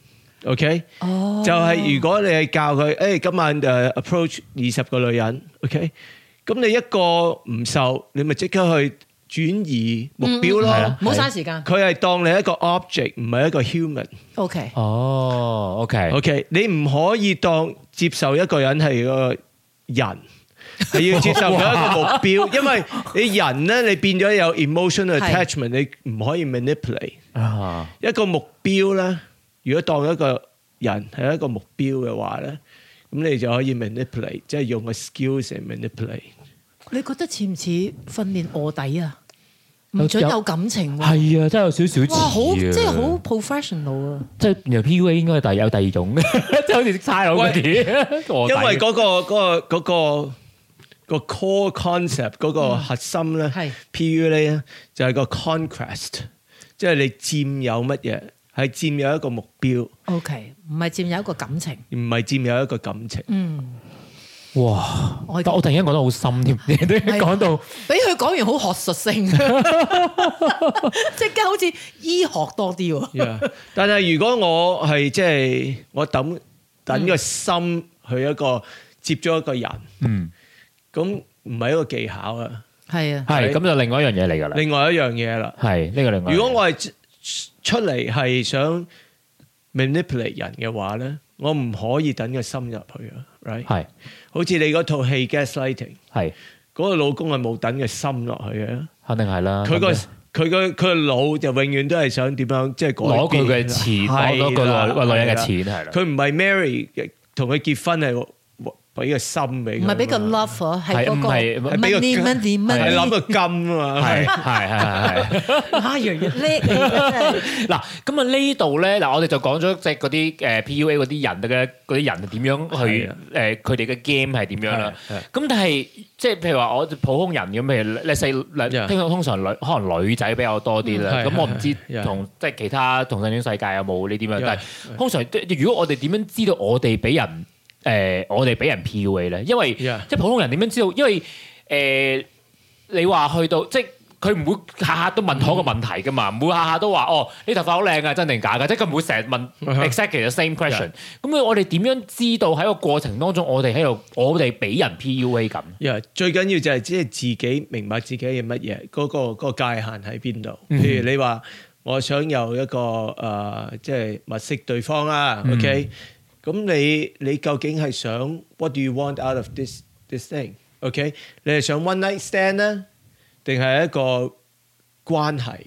OK， 哦， 就係如果你係教佢，誒今晚誒 approach 二十個女人 ，OK，咁你一個唔受，你咪即刻去轉移目標咯， 唔好嘥時間。 佢係當你一個 object，唔係一個 human。 OK， 哦，OK，OK， OK，你唔可以當接受一個人係個人，係要接受佢一個目標，因為你人咧，你變咗有 emotional attachment，你唔可以 manipulate。 啊， 一個目標咧，如果當一個人係一個目標嘅話咧，咁你就可以 manipulate，即係用個 skills 嚟 manipulate。 你覺得似唔似訓練臥底啊？唔准有感情喎。 係啊，真係有少少似啊。 哇，好即係好 professional 啊！ 即係由 P U A 應該係第有第二種，即係好似差佬嗰啲。 因為嗰個嗰個嗰個個 core concept 嗰個核心咧，P U A 咧就係個 conquest，即係你佔有乜嘢，係佔有一個目標。 OK， 唔係佔有一個感情， 唔係佔有一個感情。 嗯。 哇！我但我突然間講得好深添，你都講到俾佢講完好學術性，即刻好似醫學多啲喎。 Yeah. 但係如果我係即係我等等個心去一個接咗一個人，嗯，咁唔係一個技巧啊， 係啊， 係咁就另外一樣嘢嚟㗎啦。 另外一樣嘢啦， 係呢個另外。 如果我係出嚟係想 manipulate 人嘅話咧，我唔可以等個心入去啊 ，right？ 係。好似你嗰套戲 Gaslighting， 係嗰個老公係冇等個心落去嘅，肯定係啦。佢個佢個佢個腦就永遠都係想點樣，即係攞佢嘅錢，攞到個個女人嘅錢係啦。佢唔係 marry 同佢結婚係俾個心俾佢，唔係俾個 love 啊，係嗰個係俾個 money money，係諗個金啊嘛，係係係係。啊，楊楊叻嚟嗱，咁啊呢度咧嗱，我哋就講咗即係嗰啲誒 P U A 嗰啲人嘅嗰啲人點樣去誒佢哋嘅 game 係點樣啦。咁但係即係譬如話我普通人咁，譬如你細聽通常女可能女仔比較多啲啦。咁我唔知同即係其他同性戀世界有冇呢啲咁，但係通常如果我哋點樣知道我哋俾人？誒、呃，我哋俾人 P U A 咧，因為 Yeah. 即係普通人點樣知道？因為誒、呃，你話去到即係佢唔會下下都問同一個問題噶嘛，唔、嗯、會下下都話哦，你頭髮好靚啊，真定假㗎？即係佢唔會成日問 exactly the same question。咁、uh huh. 我哋點樣知道喺個過程當中，我哋喺度，我哋俾人 P U A 咁？Yeah, 最緊要就係即係自己明白自己係乜嘢，嗰、嗰個嗰個界限喺邊度？嗯、譬如你話我想有一個誒、呃，即係物色對方啦、嗯、，OK。咁你你究竟係想 what do you want out of this this thing？OK， 你係想 one night stand 咧，定係一個關係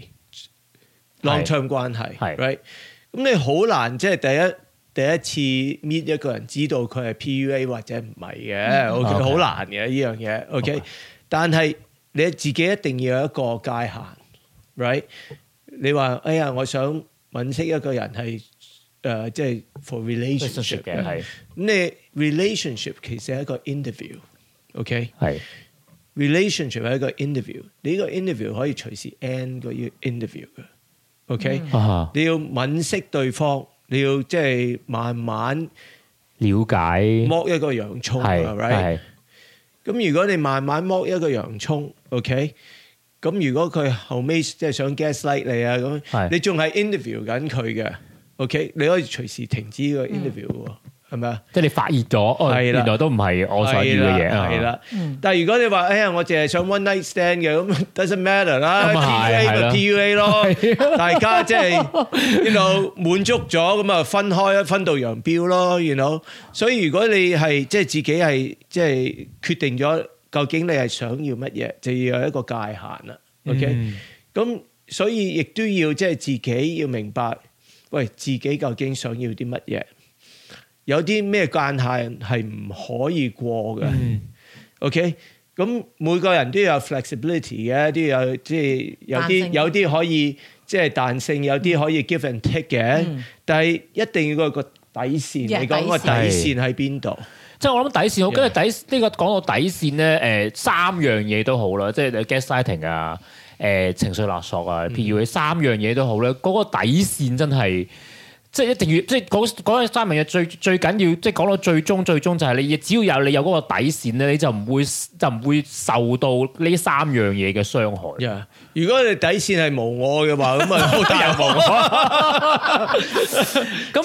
long term 關係？right？咁你好難即係第一第一次 meet 一個人知道佢係 P U A 或者唔係嘅，OK，好難嘅呢樣嘢，OK。但係你自己一定要有一個界限 ，right？你話哎呀，我想揾識一個人係。誒即係 for relationship 嘅係，咁你 relationship 其實係一個 interview，OK？係 relationship 係一個 interview，你呢個 interview 可以隨時 end 個 interview 嘅，OK？你要敏識對方，你要即係慢慢了解剝一個洋葱，係 right？咁如果你慢慢剝一個洋葱 ，OK？咁如果佢後尾即係想 gaslight 你啊，咁你仲係 interview 緊佢嘅。OK， 你可以隨時停止呢個 interview 喎，係咪啊？即係你發熱咗，哦，原來都唔係我想要嘅嘢啊！係啦，但係如果你話，哎呀，我淨係想 one night stand 嘅，咁 doesn't matter 啦 ，P U A 咪 P U A 咯，大家即係呢度滿足咗，咁啊分開，分道揚鑣咯，you know。所以如果你係即係自己係即係決定咗，究竟你係想要乜嘢，就要有一個界限啦。OK，咁所以亦都要即係自己要明白。喂，自己究竟想要啲乜嘢？有啲咩界限係唔可以過嘅、嗯、？OK，咁每個人都有 flexibility 嘅，都有即係有啲有啲可以即係彈性，有啲可以 give and take 嘅。嗯、但係一定要個個底線，嗯、你講個底線喺邊度？即係我諗底線，我跟住底呢、呢個講到底線咧，誒、呃、三樣嘢都好啦，即係 gaslighting 啊。誒、呃、情緒勒索啊 ，P U A 三樣嘢都好咧，嗰、那個底線真係即係一定要，即係嗰嗰三樣嘢最最緊要，即係講到最終最終就係你只要有你有嗰個底線咧，你就唔會就唔會受到呢三樣嘢嘅傷害。Yeah. 如果你底線係無我嘅話，咁啊好大無我。咁即係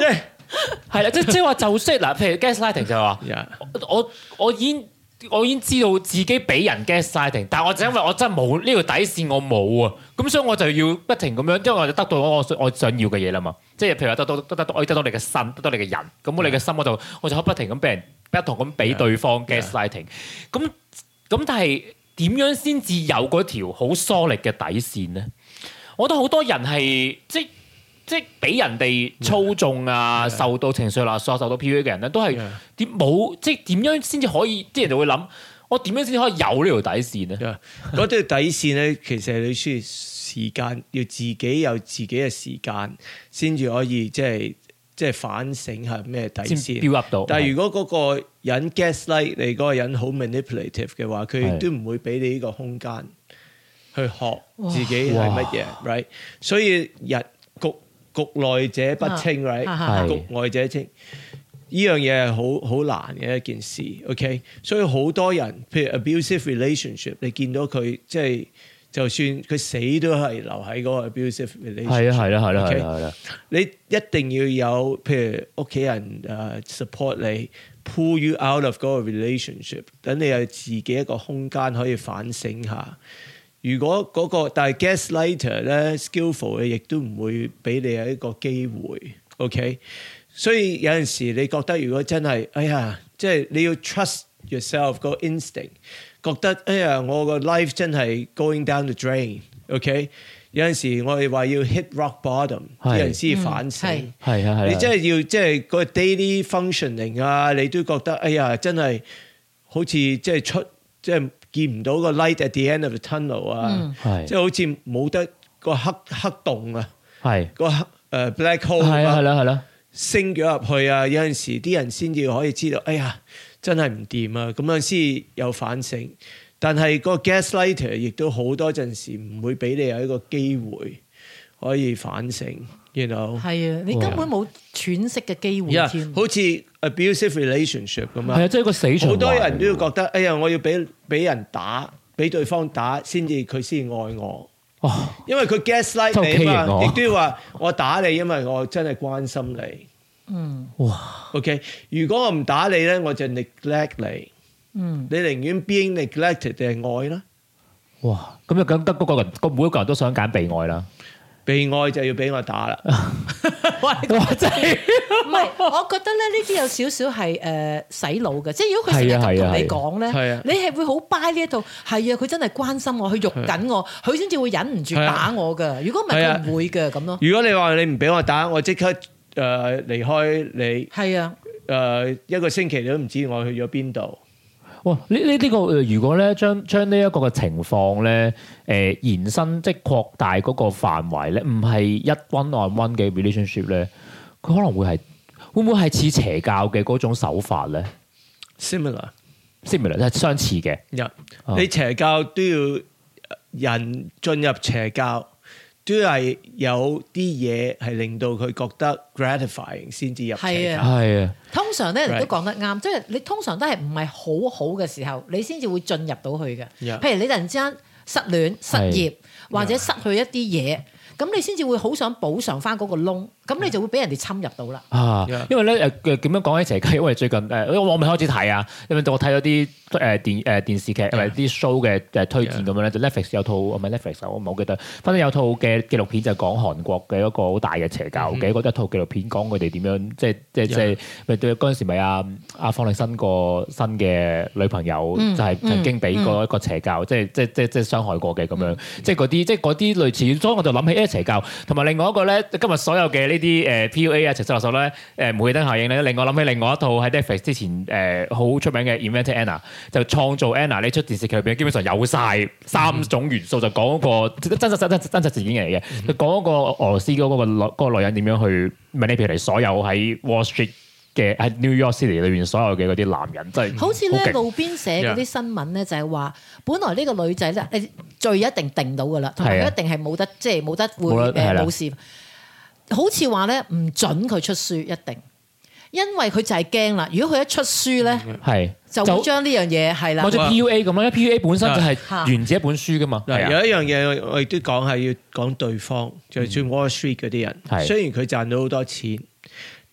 係啦，即即係話就識嗱，譬如 gaslighting 就話 Yeah. 我我已經我已經知道自己俾人 gaslighting，但係我就因為我真係冇呢條底線，我冇啊，咁所以我就要不停咁樣，因為我就得到我我想要嘅嘢啦嘛。即係譬如話得到得得到，我得到你嘅心，得到你嘅人，咁我你嘅心我就我就可以不停咁俾人不同咁俾對方 gaslighting。咁咁但係點樣先至有嗰條好疏力嘅底線咧？我覺得好多人係即即係俾人哋操縱啊， yeah. 受到情緒勒索、受到 P U A 嘅人咧，都係點冇即係點樣先至可以？啲人就會諗，我點樣先可以有呢條底線咧？ 嗰條底線咧，其實你需要時間，要自己有自己嘅時間，先至可以即係即係反省下咩底線。 標 up 到。 但係如果嗰個人 gaslight 你嗰個人好 manipulative 嘅話，佢都唔會俾你呢個空間去學自己係乜嘢 ，right？ 所以人局局內者不清 ，right？ 局外者清，呢樣嘢係好好難嘅一件事 ，OK？ 所以好多人，譬如 abusive relationship， 你見到佢即係就算佢死都係留喺嗰個 abusive relationship。係啊， 係啦，係啦，係啦。 你一定要有譬如屋企人誒 support 你 ，pull you out of 嗰個 relationship， 等你有自己一個空間可以反省下。如果嗰、那個，但係 gaslighter 咧 skillful 嘅，亦都唔會俾你有一個機會 ，OK？ 所以有陣時你覺得如果真係，哎呀，即係你要 trust yourself 個 instinct， 覺得哎呀我個 life 真係 going down the drain，OK？ 有陣時我哋話要 hit rock bottom， 啲人先反省， 係啊係。你真係要即係個 daily functioning 啊，你都覺得哎呀真係好似即係出即係。見唔到個 light at the end of the tunnel 啊，嗯、即係好似冇得個黑黑洞啊，個黑誒、uh, black hole 啊， 係啦係啦， 升咗入去啊！有陣時啲人先至可以知道，哎呀，真係唔掂啊！咁樣先有反省。但係個 gaslighter 亦都好多陣時唔會俾你有一個機會可以反省。You know？ 係啊，你根本冇喘息嘅機會添。 Yeah, 好似 abusive relationship 咁啊， 係啊，即係個死循環。 好多人都要覺得，哎呀，我要俾俾人打，俾對方打先至佢先愛我。哦，因為佢 gaslight 你啊嘛，亦都要話我打你，因為我真係關心你。嗯，哇。OK， 如果我唔打你咧，我就 neglect 你。嗯，你寧願 being neglected 定係愛啦？ 哇，咁就咁得嗰個人，個每一個人都想揀被愛啦。 被愛就要俾我打啦！ 哇，真係唔係，我覺得咧呢啲有少少係誒洗腦嘅，即係如果佢成日咁同你講咧，你係會好 buy 呢一套，係啊，佢真係關心我，佢肉緊我，佢先至會忍唔住打我㗎。如果唔係佢唔會嘅咁咯。如果你話你唔俾我打，我即刻誒離開你。 係啊， 誒一個星期你都唔知我去咗邊度。 哇！呢呢呢個如果咧將將呢一個嘅情況咧，誒、呃、延伸即係擴大嗰個範圍咧，唔係一 one on one 嘅 relationship 咧，佢可能會係會唔會係似邪教嘅嗰種手法咧 ？Similar，similar similar 即係相似嘅。 Yeah. 你邪教都要人進入邪教，都係有啲嘢係令到佢覺得 gratifying 先至入邪教。 係啊。 通常咧，你都講得啱，即係你通常都係唔係好好嘅時候，你先至會進入到去嘅。Yeah. 譬如你突然之間失戀、失業或者失去一啲嘢，咁你先至會好想補償翻嗰個窿，咁你就會俾人哋侵入到啦。啊， 因為咧誒點樣講起邪教？因為最近誒，因為我未開始睇啊，因為我睇咗啲誒電誒電視劇或者啲 show 嘅誒推薦咁樣咧，就 Netflix 有套唔係 Netflix，我唔係好記得，反正有套嘅紀錄片就講韓國嘅一個好大嘅邪教嘅，嗰一套紀錄片講佢哋點樣即係即係即係咪對嗰陣時咪阿阿方力申個新嘅女朋友就係曾經俾過一個邪教，即係即係即係即係傷害過嘅咁樣，即係嗰啲即係嗰啲類似，所以我就諗起誒邪教，同埋另外一個咧，今日所有嘅呢啲誒 P U A 啊、情緒勒索咧、誒煤氣燈效應咧，令我諗起另外一套喺 Netflix 之前誒好出名嘅 Inventing Anna， 就創造 Anna 呢出電視劇入邊，基本上有晒三種元素，就講嗰個真實真真真實事件嚟嘅，就講嗰個俄羅斯嗰個女嗰個女人點樣去 manipulate所有喺 Wall Street 嘅喺 New York City 裏邊所有嘅嗰啲男人，真係好似咧路邊寫嗰啲新聞咧，就係話本來呢個女仔咧，誒罪一定定到㗎啦，同埋佢一定係冇得即係冇得會誒冇事。好似話咧唔準佢出書一定，因為佢就係驚啦。如果佢一出書咧，係就會將呢樣嘢係啦， 或者 P U A 咁啦。P U A 本身就係源自一本書噶嘛。 有一樣嘢我亦都講係要講對方，就係算 Wall Street 嗰啲人，雖然佢賺到好多錢，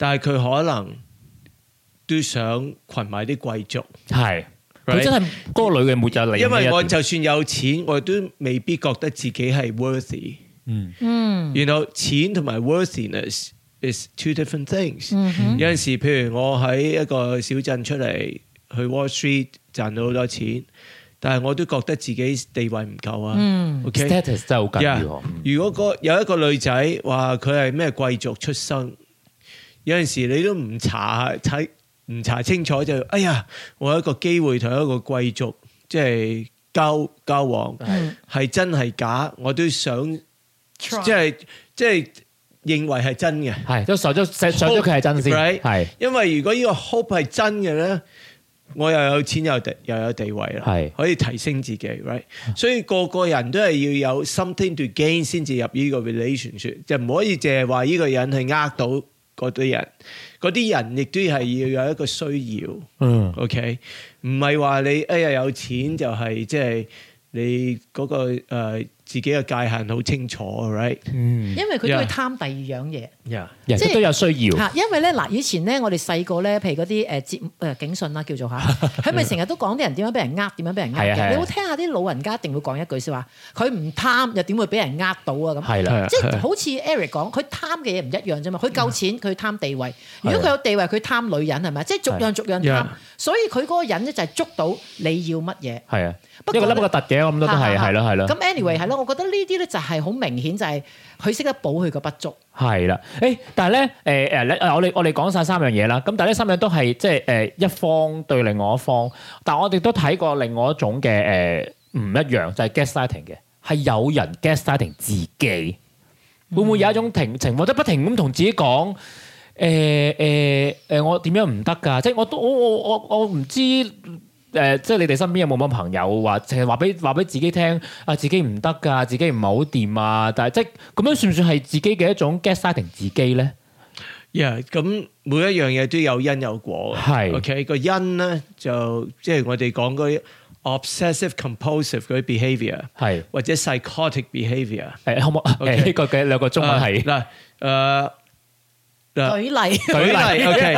但係佢可能都想群埋啲貴族。 係，佢真係嗰個女嘅沒有理。 因為我就算有錢，我都未必覺得自己係 worthy。 嗯嗯， 然後錢同埋 worthiness is two different things。 嗯、 有陣時，譬如我喺一個小鎮出嚟去 Wall Street 賺到好多錢。但係我都覺得自己地位唔夠啊。 嗯 OK， status 真係好緊要。 Yeah，如果個有一個女仔話佢係咩貴族出身，有陣時你都唔查睇唔查清楚就，哎呀，我有一個機會同一個貴族即係交交往，係、嗯、真係假，我都想 Try. 即係即係認為係真嘅。 係都上咗上咗佢係真先。係 Right？因為如果呢個 hope 係真嘅咧。我又有錢又地又有地位啦，可以提升自己 ，right？所以個個人都係要有 something to gain 先至入呢個 relationship，就唔可以淨係話呢個人係呃到嗰啲人，嗰啲人亦都係要有一個需要，嗯 ，OK？唔係話你哎呀有錢就係即係你嗰個誒自己嘅界限好清楚 ，right？嗯， 因為佢都會貪第二樣嘢， 即係都有需要嚇。因為咧嗱，以前咧我哋細個咧，譬如嗰啲誒節誒警訊啦，叫做嚇，佢咪成日都講啲人點樣俾人呃，點樣俾人呃嘅。你會聽下啲老人家一定會講一句説話，佢唔貪又點會俾人呃到啊？咁係啦，即係好似 Eric 講，佢貪嘅嘢唔一樣啫嘛。佢夠錢，佢貪地位；如果佢有地位，佢貪女人係咪？即係逐樣逐樣貪。所以佢嗰個人咧就係捉到你要乜嘢。係啊， 一個粒一個突嘅，我諗都係係咯係咯。 咁 anyway 係咯，我覺得呢啲咧就係好明顯，就係佢識得補佢個不足。 係啦，誒，但係咧，誒誒，我哋我哋講晒三樣嘢啦。咁但係呢三樣都係即係誒一方對另外一方。但係我哋都睇過另外一種嘅誒唔一樣，就係 gaslighting 嘅，係有人 gaslighting 自己，會唔會有一種情情況，即係不停咁同自己講。誒誒誒，我點樣唔得㗎？即係我都我我我我唔知誒、呃，即係你哋身邊有冇乜朋友話，淨係話俾話俾自己聽啊，自己唔得㗎，自己唔係好掂啊！但係即係咁樣算唔算係自己嘅一種 gaslighting 自己咧？ 呀，咁每一樣嘢都有因有果嘅。係 OK 個因咧就即係我哋講嗰啲 obsessive compulsive 嗰啲 behaviour 係或者 psychotic behaviour 誒，可唔可誒呢個嘅兩個中文係嗱誒。 舉例， 舉例 ，OK。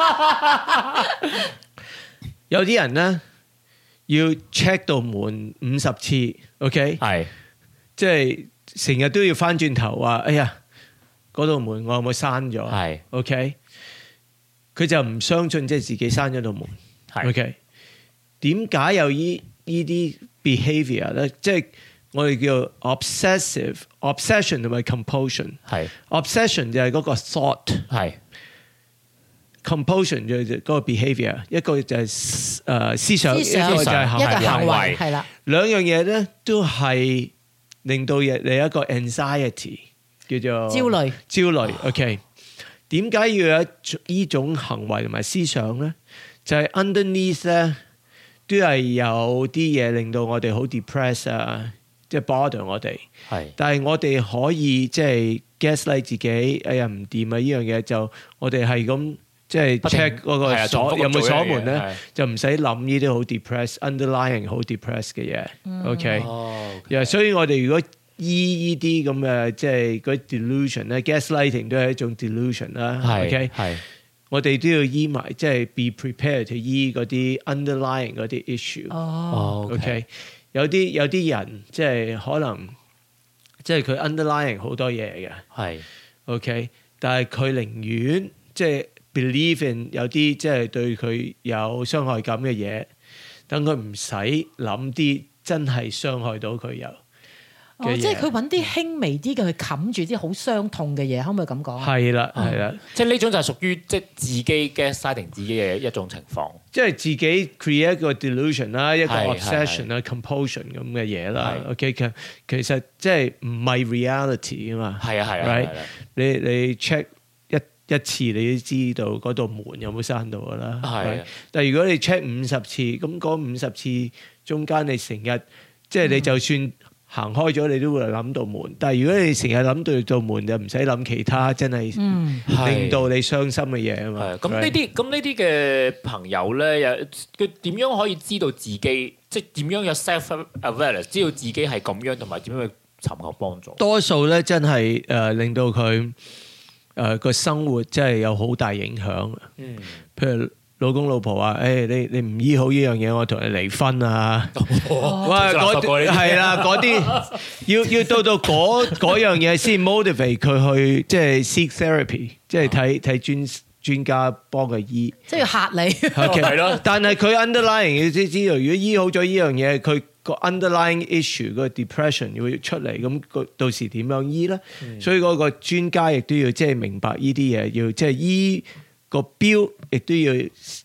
有啲人咧要 check 到門五十次 ，OK，係，即係成日都要翻轉頭話，哎呀，嗰道門我有冇閂咗？係 ，OK。佢就唔相信即係自己閂咗道門，係 ，OK。點解有依依啲 behaviour 咧？即係我哋叫 obsessive obsession 同埋 compulsion。係 obsession 就係嗰個 thought， 係 compulsion 就係嗰個 behaviour。一個就係誒思想，一個就係行為，一個行為係啦。兩樣嘢咧都係令到你一個 anxiety 叫做焦慮。焦慮 OK。點解要有依種行為同埋思想咧？就係 underneath 咧都係有啲嘢令到我哋好 depress 啊。即係 bother 我哋，係，但係我哋可以即係 gaslight 自己，哎呀唔掂啊！呢樣嘢就我哋係咁即係 check 嗰個鎖有冇鎖門咧，就唔使諗呢啲好 depress、underlying 好 depress 嘅嘢。OK，所以我哋如果醫呢啲咁嘅即係嗰啲 delusion 咧 ，gaslighting 都係一種 delusion 啦。OK，係，我哋都要醫埋，即係 be prepared to 醫嗰啲 underlying 嗰啲 issue。哦，OK。有啲有啲人即係可能即係佢 underlying 好多嘢嘅，係 OK，但係佢寧願即係 believe in 有啲即係對佢有傷害感嘅嘢，等佢唔使諗啲真係傷害到佢有。 哦，即係佢揾啲輕微啲嘅去冚住啲好傷痛嘅嘢，可唔可以咁講？ 係啦，係啦， 即係呢種就係屬於即係自己嘅 gaslighting 自己嘅一種情況， 即係自己 create 一個 delusion 啦，一個 obsession 啦 ，compulsion 咁嘅嘢啦。OK，其其實即係唔係 reality 啊嘛。係啊係啊， right？你你 check 一一次你都知道嗰道門有冇閂到噶啦。係，但係如果你 check 五十次，咁嗰五十次中間你成日即係你就算行開咗你都會諗到門，但係如果你成日諗到道門就唔使諗其他，真係令到你傷心嘅嘢啊嘛。 咁呢啲咁呢啲嘅朋友咧，又佢點樣可以知道自己，即係點樣有 self-awareness，知道自己係咁樣，同埋點樣去尋求幫助？ 多數咧真係誒令到佢誒個生活真係有好大影響。 嗯， 譬如老公老婆話：誒你你唔醫好呢樣嘢，我同你離婚啊！哇，嗰啲係啦，嗰啲要要到到嗰嗰樣嘢先 motivate 佢去即係 seek therapy，即係睇睇專專家幫佢醫。即係要嚇你。係咯，但係佢 underlying 要知知道，如果醫好咗呢樣嘢，佢個 underlying issue 個 depression 會出嚟，咁個到時點樣醫咧？所以嗰個專家亦都要即係明白呢啲嘢，要即係醫。個標亦都要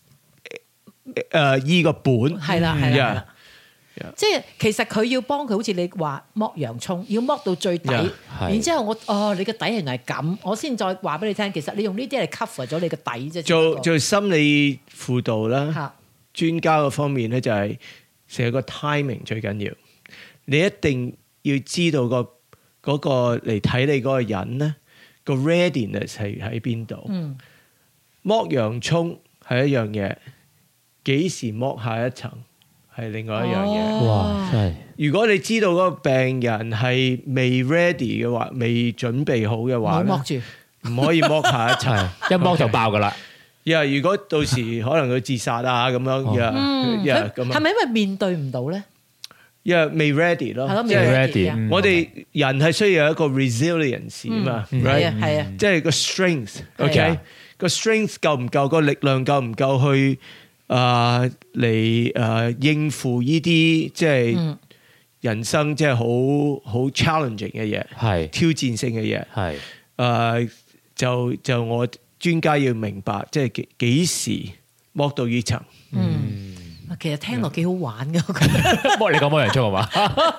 誒醫個本， 係啦係啦，即係其實佢要幫佢，好似你話剝洋葱，要剝到最底，然之後我哦你個底原來係咁，我先再話俾你聽，其實你用呢啲嚟 cover 咗你個底啫。 做做心理輔導啦，專家嗰方面咧就係成個 timing 最緊要，你一定要知道個嗰個嚟睇你嗰個人咧個 readiness 係喺邊度。嗯。剝洋葱係一樣嘢，幾時剝下一層係另外一樣嘢。哇！真係，如果你知道嗰個病人係未 ready 嘅話，未準備好嘅話，唔好剝住，唔可以剝下一層，一剝就爆噶啦。呀！如果到時可能佢自殺啊咁樣，呀呀咁。係咪因為面對唔到咧？呀，未 ready 咯，即係 ready。我哋人係需要有一個 resilience 啊嘛， 係啊係啊， 即係個 strength，OK。個 strength 夠唔夠？個力量夠唔夠去啊嚟誒應付呢啲即係人生即係好好 challenging 嘅嘢，係挑戰性嘅嘢，係誒就就我專家要明白，即係幾幾時剝到呢層。 嗯，其實聽落幾好玩嘅，我覺得。 剝你講剝洋葱係嘛？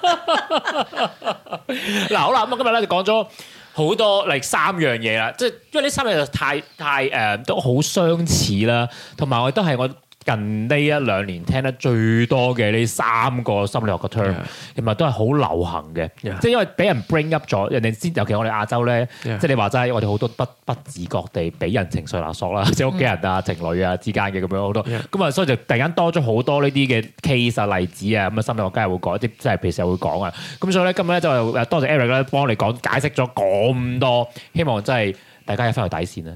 嗱好啦，咁今日咧就講咗好多嚟三樣嘢啦，即係因為呢三樣就太太誒、呃、都好相似啦，同埋我都係我近呢一兩年聽得最多嘅呢三個心理學嘅 term，同埋都係好流行嘅，yeah. 即係因為俾人 bring up 咗，人哋先，尤其我哋亞洲咧，yeah. 即係你話齋，我哋好多不不自覺地俾人情緒勒索啦，即係屋企人啊、情侶啊之間嘅咁樣好多，咁啊，yeah. 所以就突然間多咗好多呢啲嘅 case 啊、例子啊，咁啊，心理學家會講，即係譬如時會講啊，咁所以咧今日咧就多謝 Eric 咧幫你講解釋咗咁多，希望真係。大家有翻條底線啦。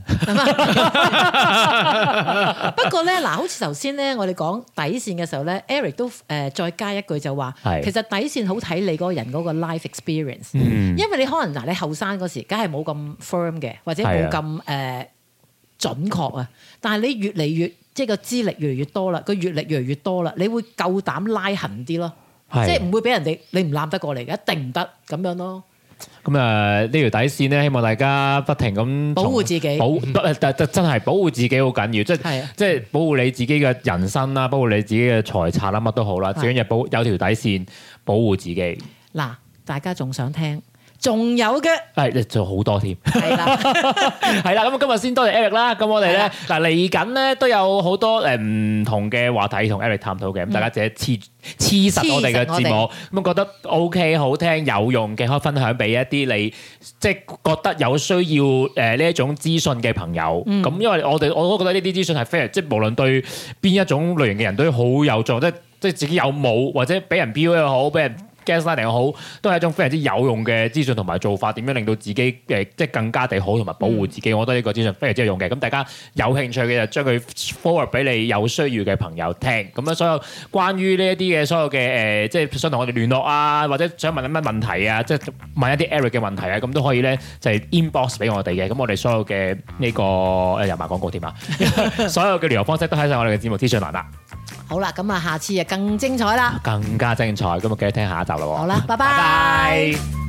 不過咧，嗱，好似頭先咧，我哋講底線嘅時候咧 ，Eric 都誒、呃、再加一句就話，其實底線好睇你嗰個人嗰個 life experience，、嗯、因為你可能嗱，你後生嗰時，梗係冇咁 firm 嘅，或者冇咁誒準確啊。但係你越嚟越即係個資歷越嚟越多啦，個閲歷越嚟越多啦，你會夠膽拉痕啲咯，即係唔會俾人哋你唔攬得過嚟嘅，一定唔得咁樣咯。 咁啊，呢條底線咧，希望大家不停咁保護自己， 保不真係保護自己好緊要，即係即係保護你自己嘅人生啦，保護你自己嘅財產啦，乜都好啦，最緊要保有條底線保護自己。 嗱，大家仲想聽？仲有嘅， 係仲好多添，係啦，係啦。咁今日先多謝 Eric 啦。咁我哋咧嗱嚟緊咧都有好多誒唔同嘅話題同 Eric 探討嘅。咁、嗯、大家自己黐黐實我哋嘅節目，咁覺得 OK 好聽有用嘅，可以分享俾一啲你即係覺得有需要誒呢一種資訊嘅朋友。咁、嗯、因為我哋我都覺得呢啲資訊係非常即係無論對邊一種類型嘅人都好有用，即係即係自己有冇或者俾人標又好，俾人gaslighting又好，都係一種非常之有用嘅資訊同埋做法，點樣令到自己誒即係更加地好同埋保護自己、嗯，我覺得呢個資訊非常之有用嘅。咁大家有興趣嘅就將佢 forward 俾你有需要嘅朋友聽。咁樣所有關於呢一啲嘅所有嘅誒、呃，即係想同我哋聯絡啊，或者想問啲乜問題啊，即係問一啲 Eric 嘅問題啊，咁都可以咧就係、是、inbox 俾我哋嘅。咁我哋所有嘅呢、這個誒又賣廣告添啊，所有嘅聯絡方式都喺晒我哋嘅節目資訊欄啦。 好啦，咁啊，下次啊更精彩啦， 更加精彩，咁啊記得聽下一集啦喎。 好啦，拜拜。拜拜。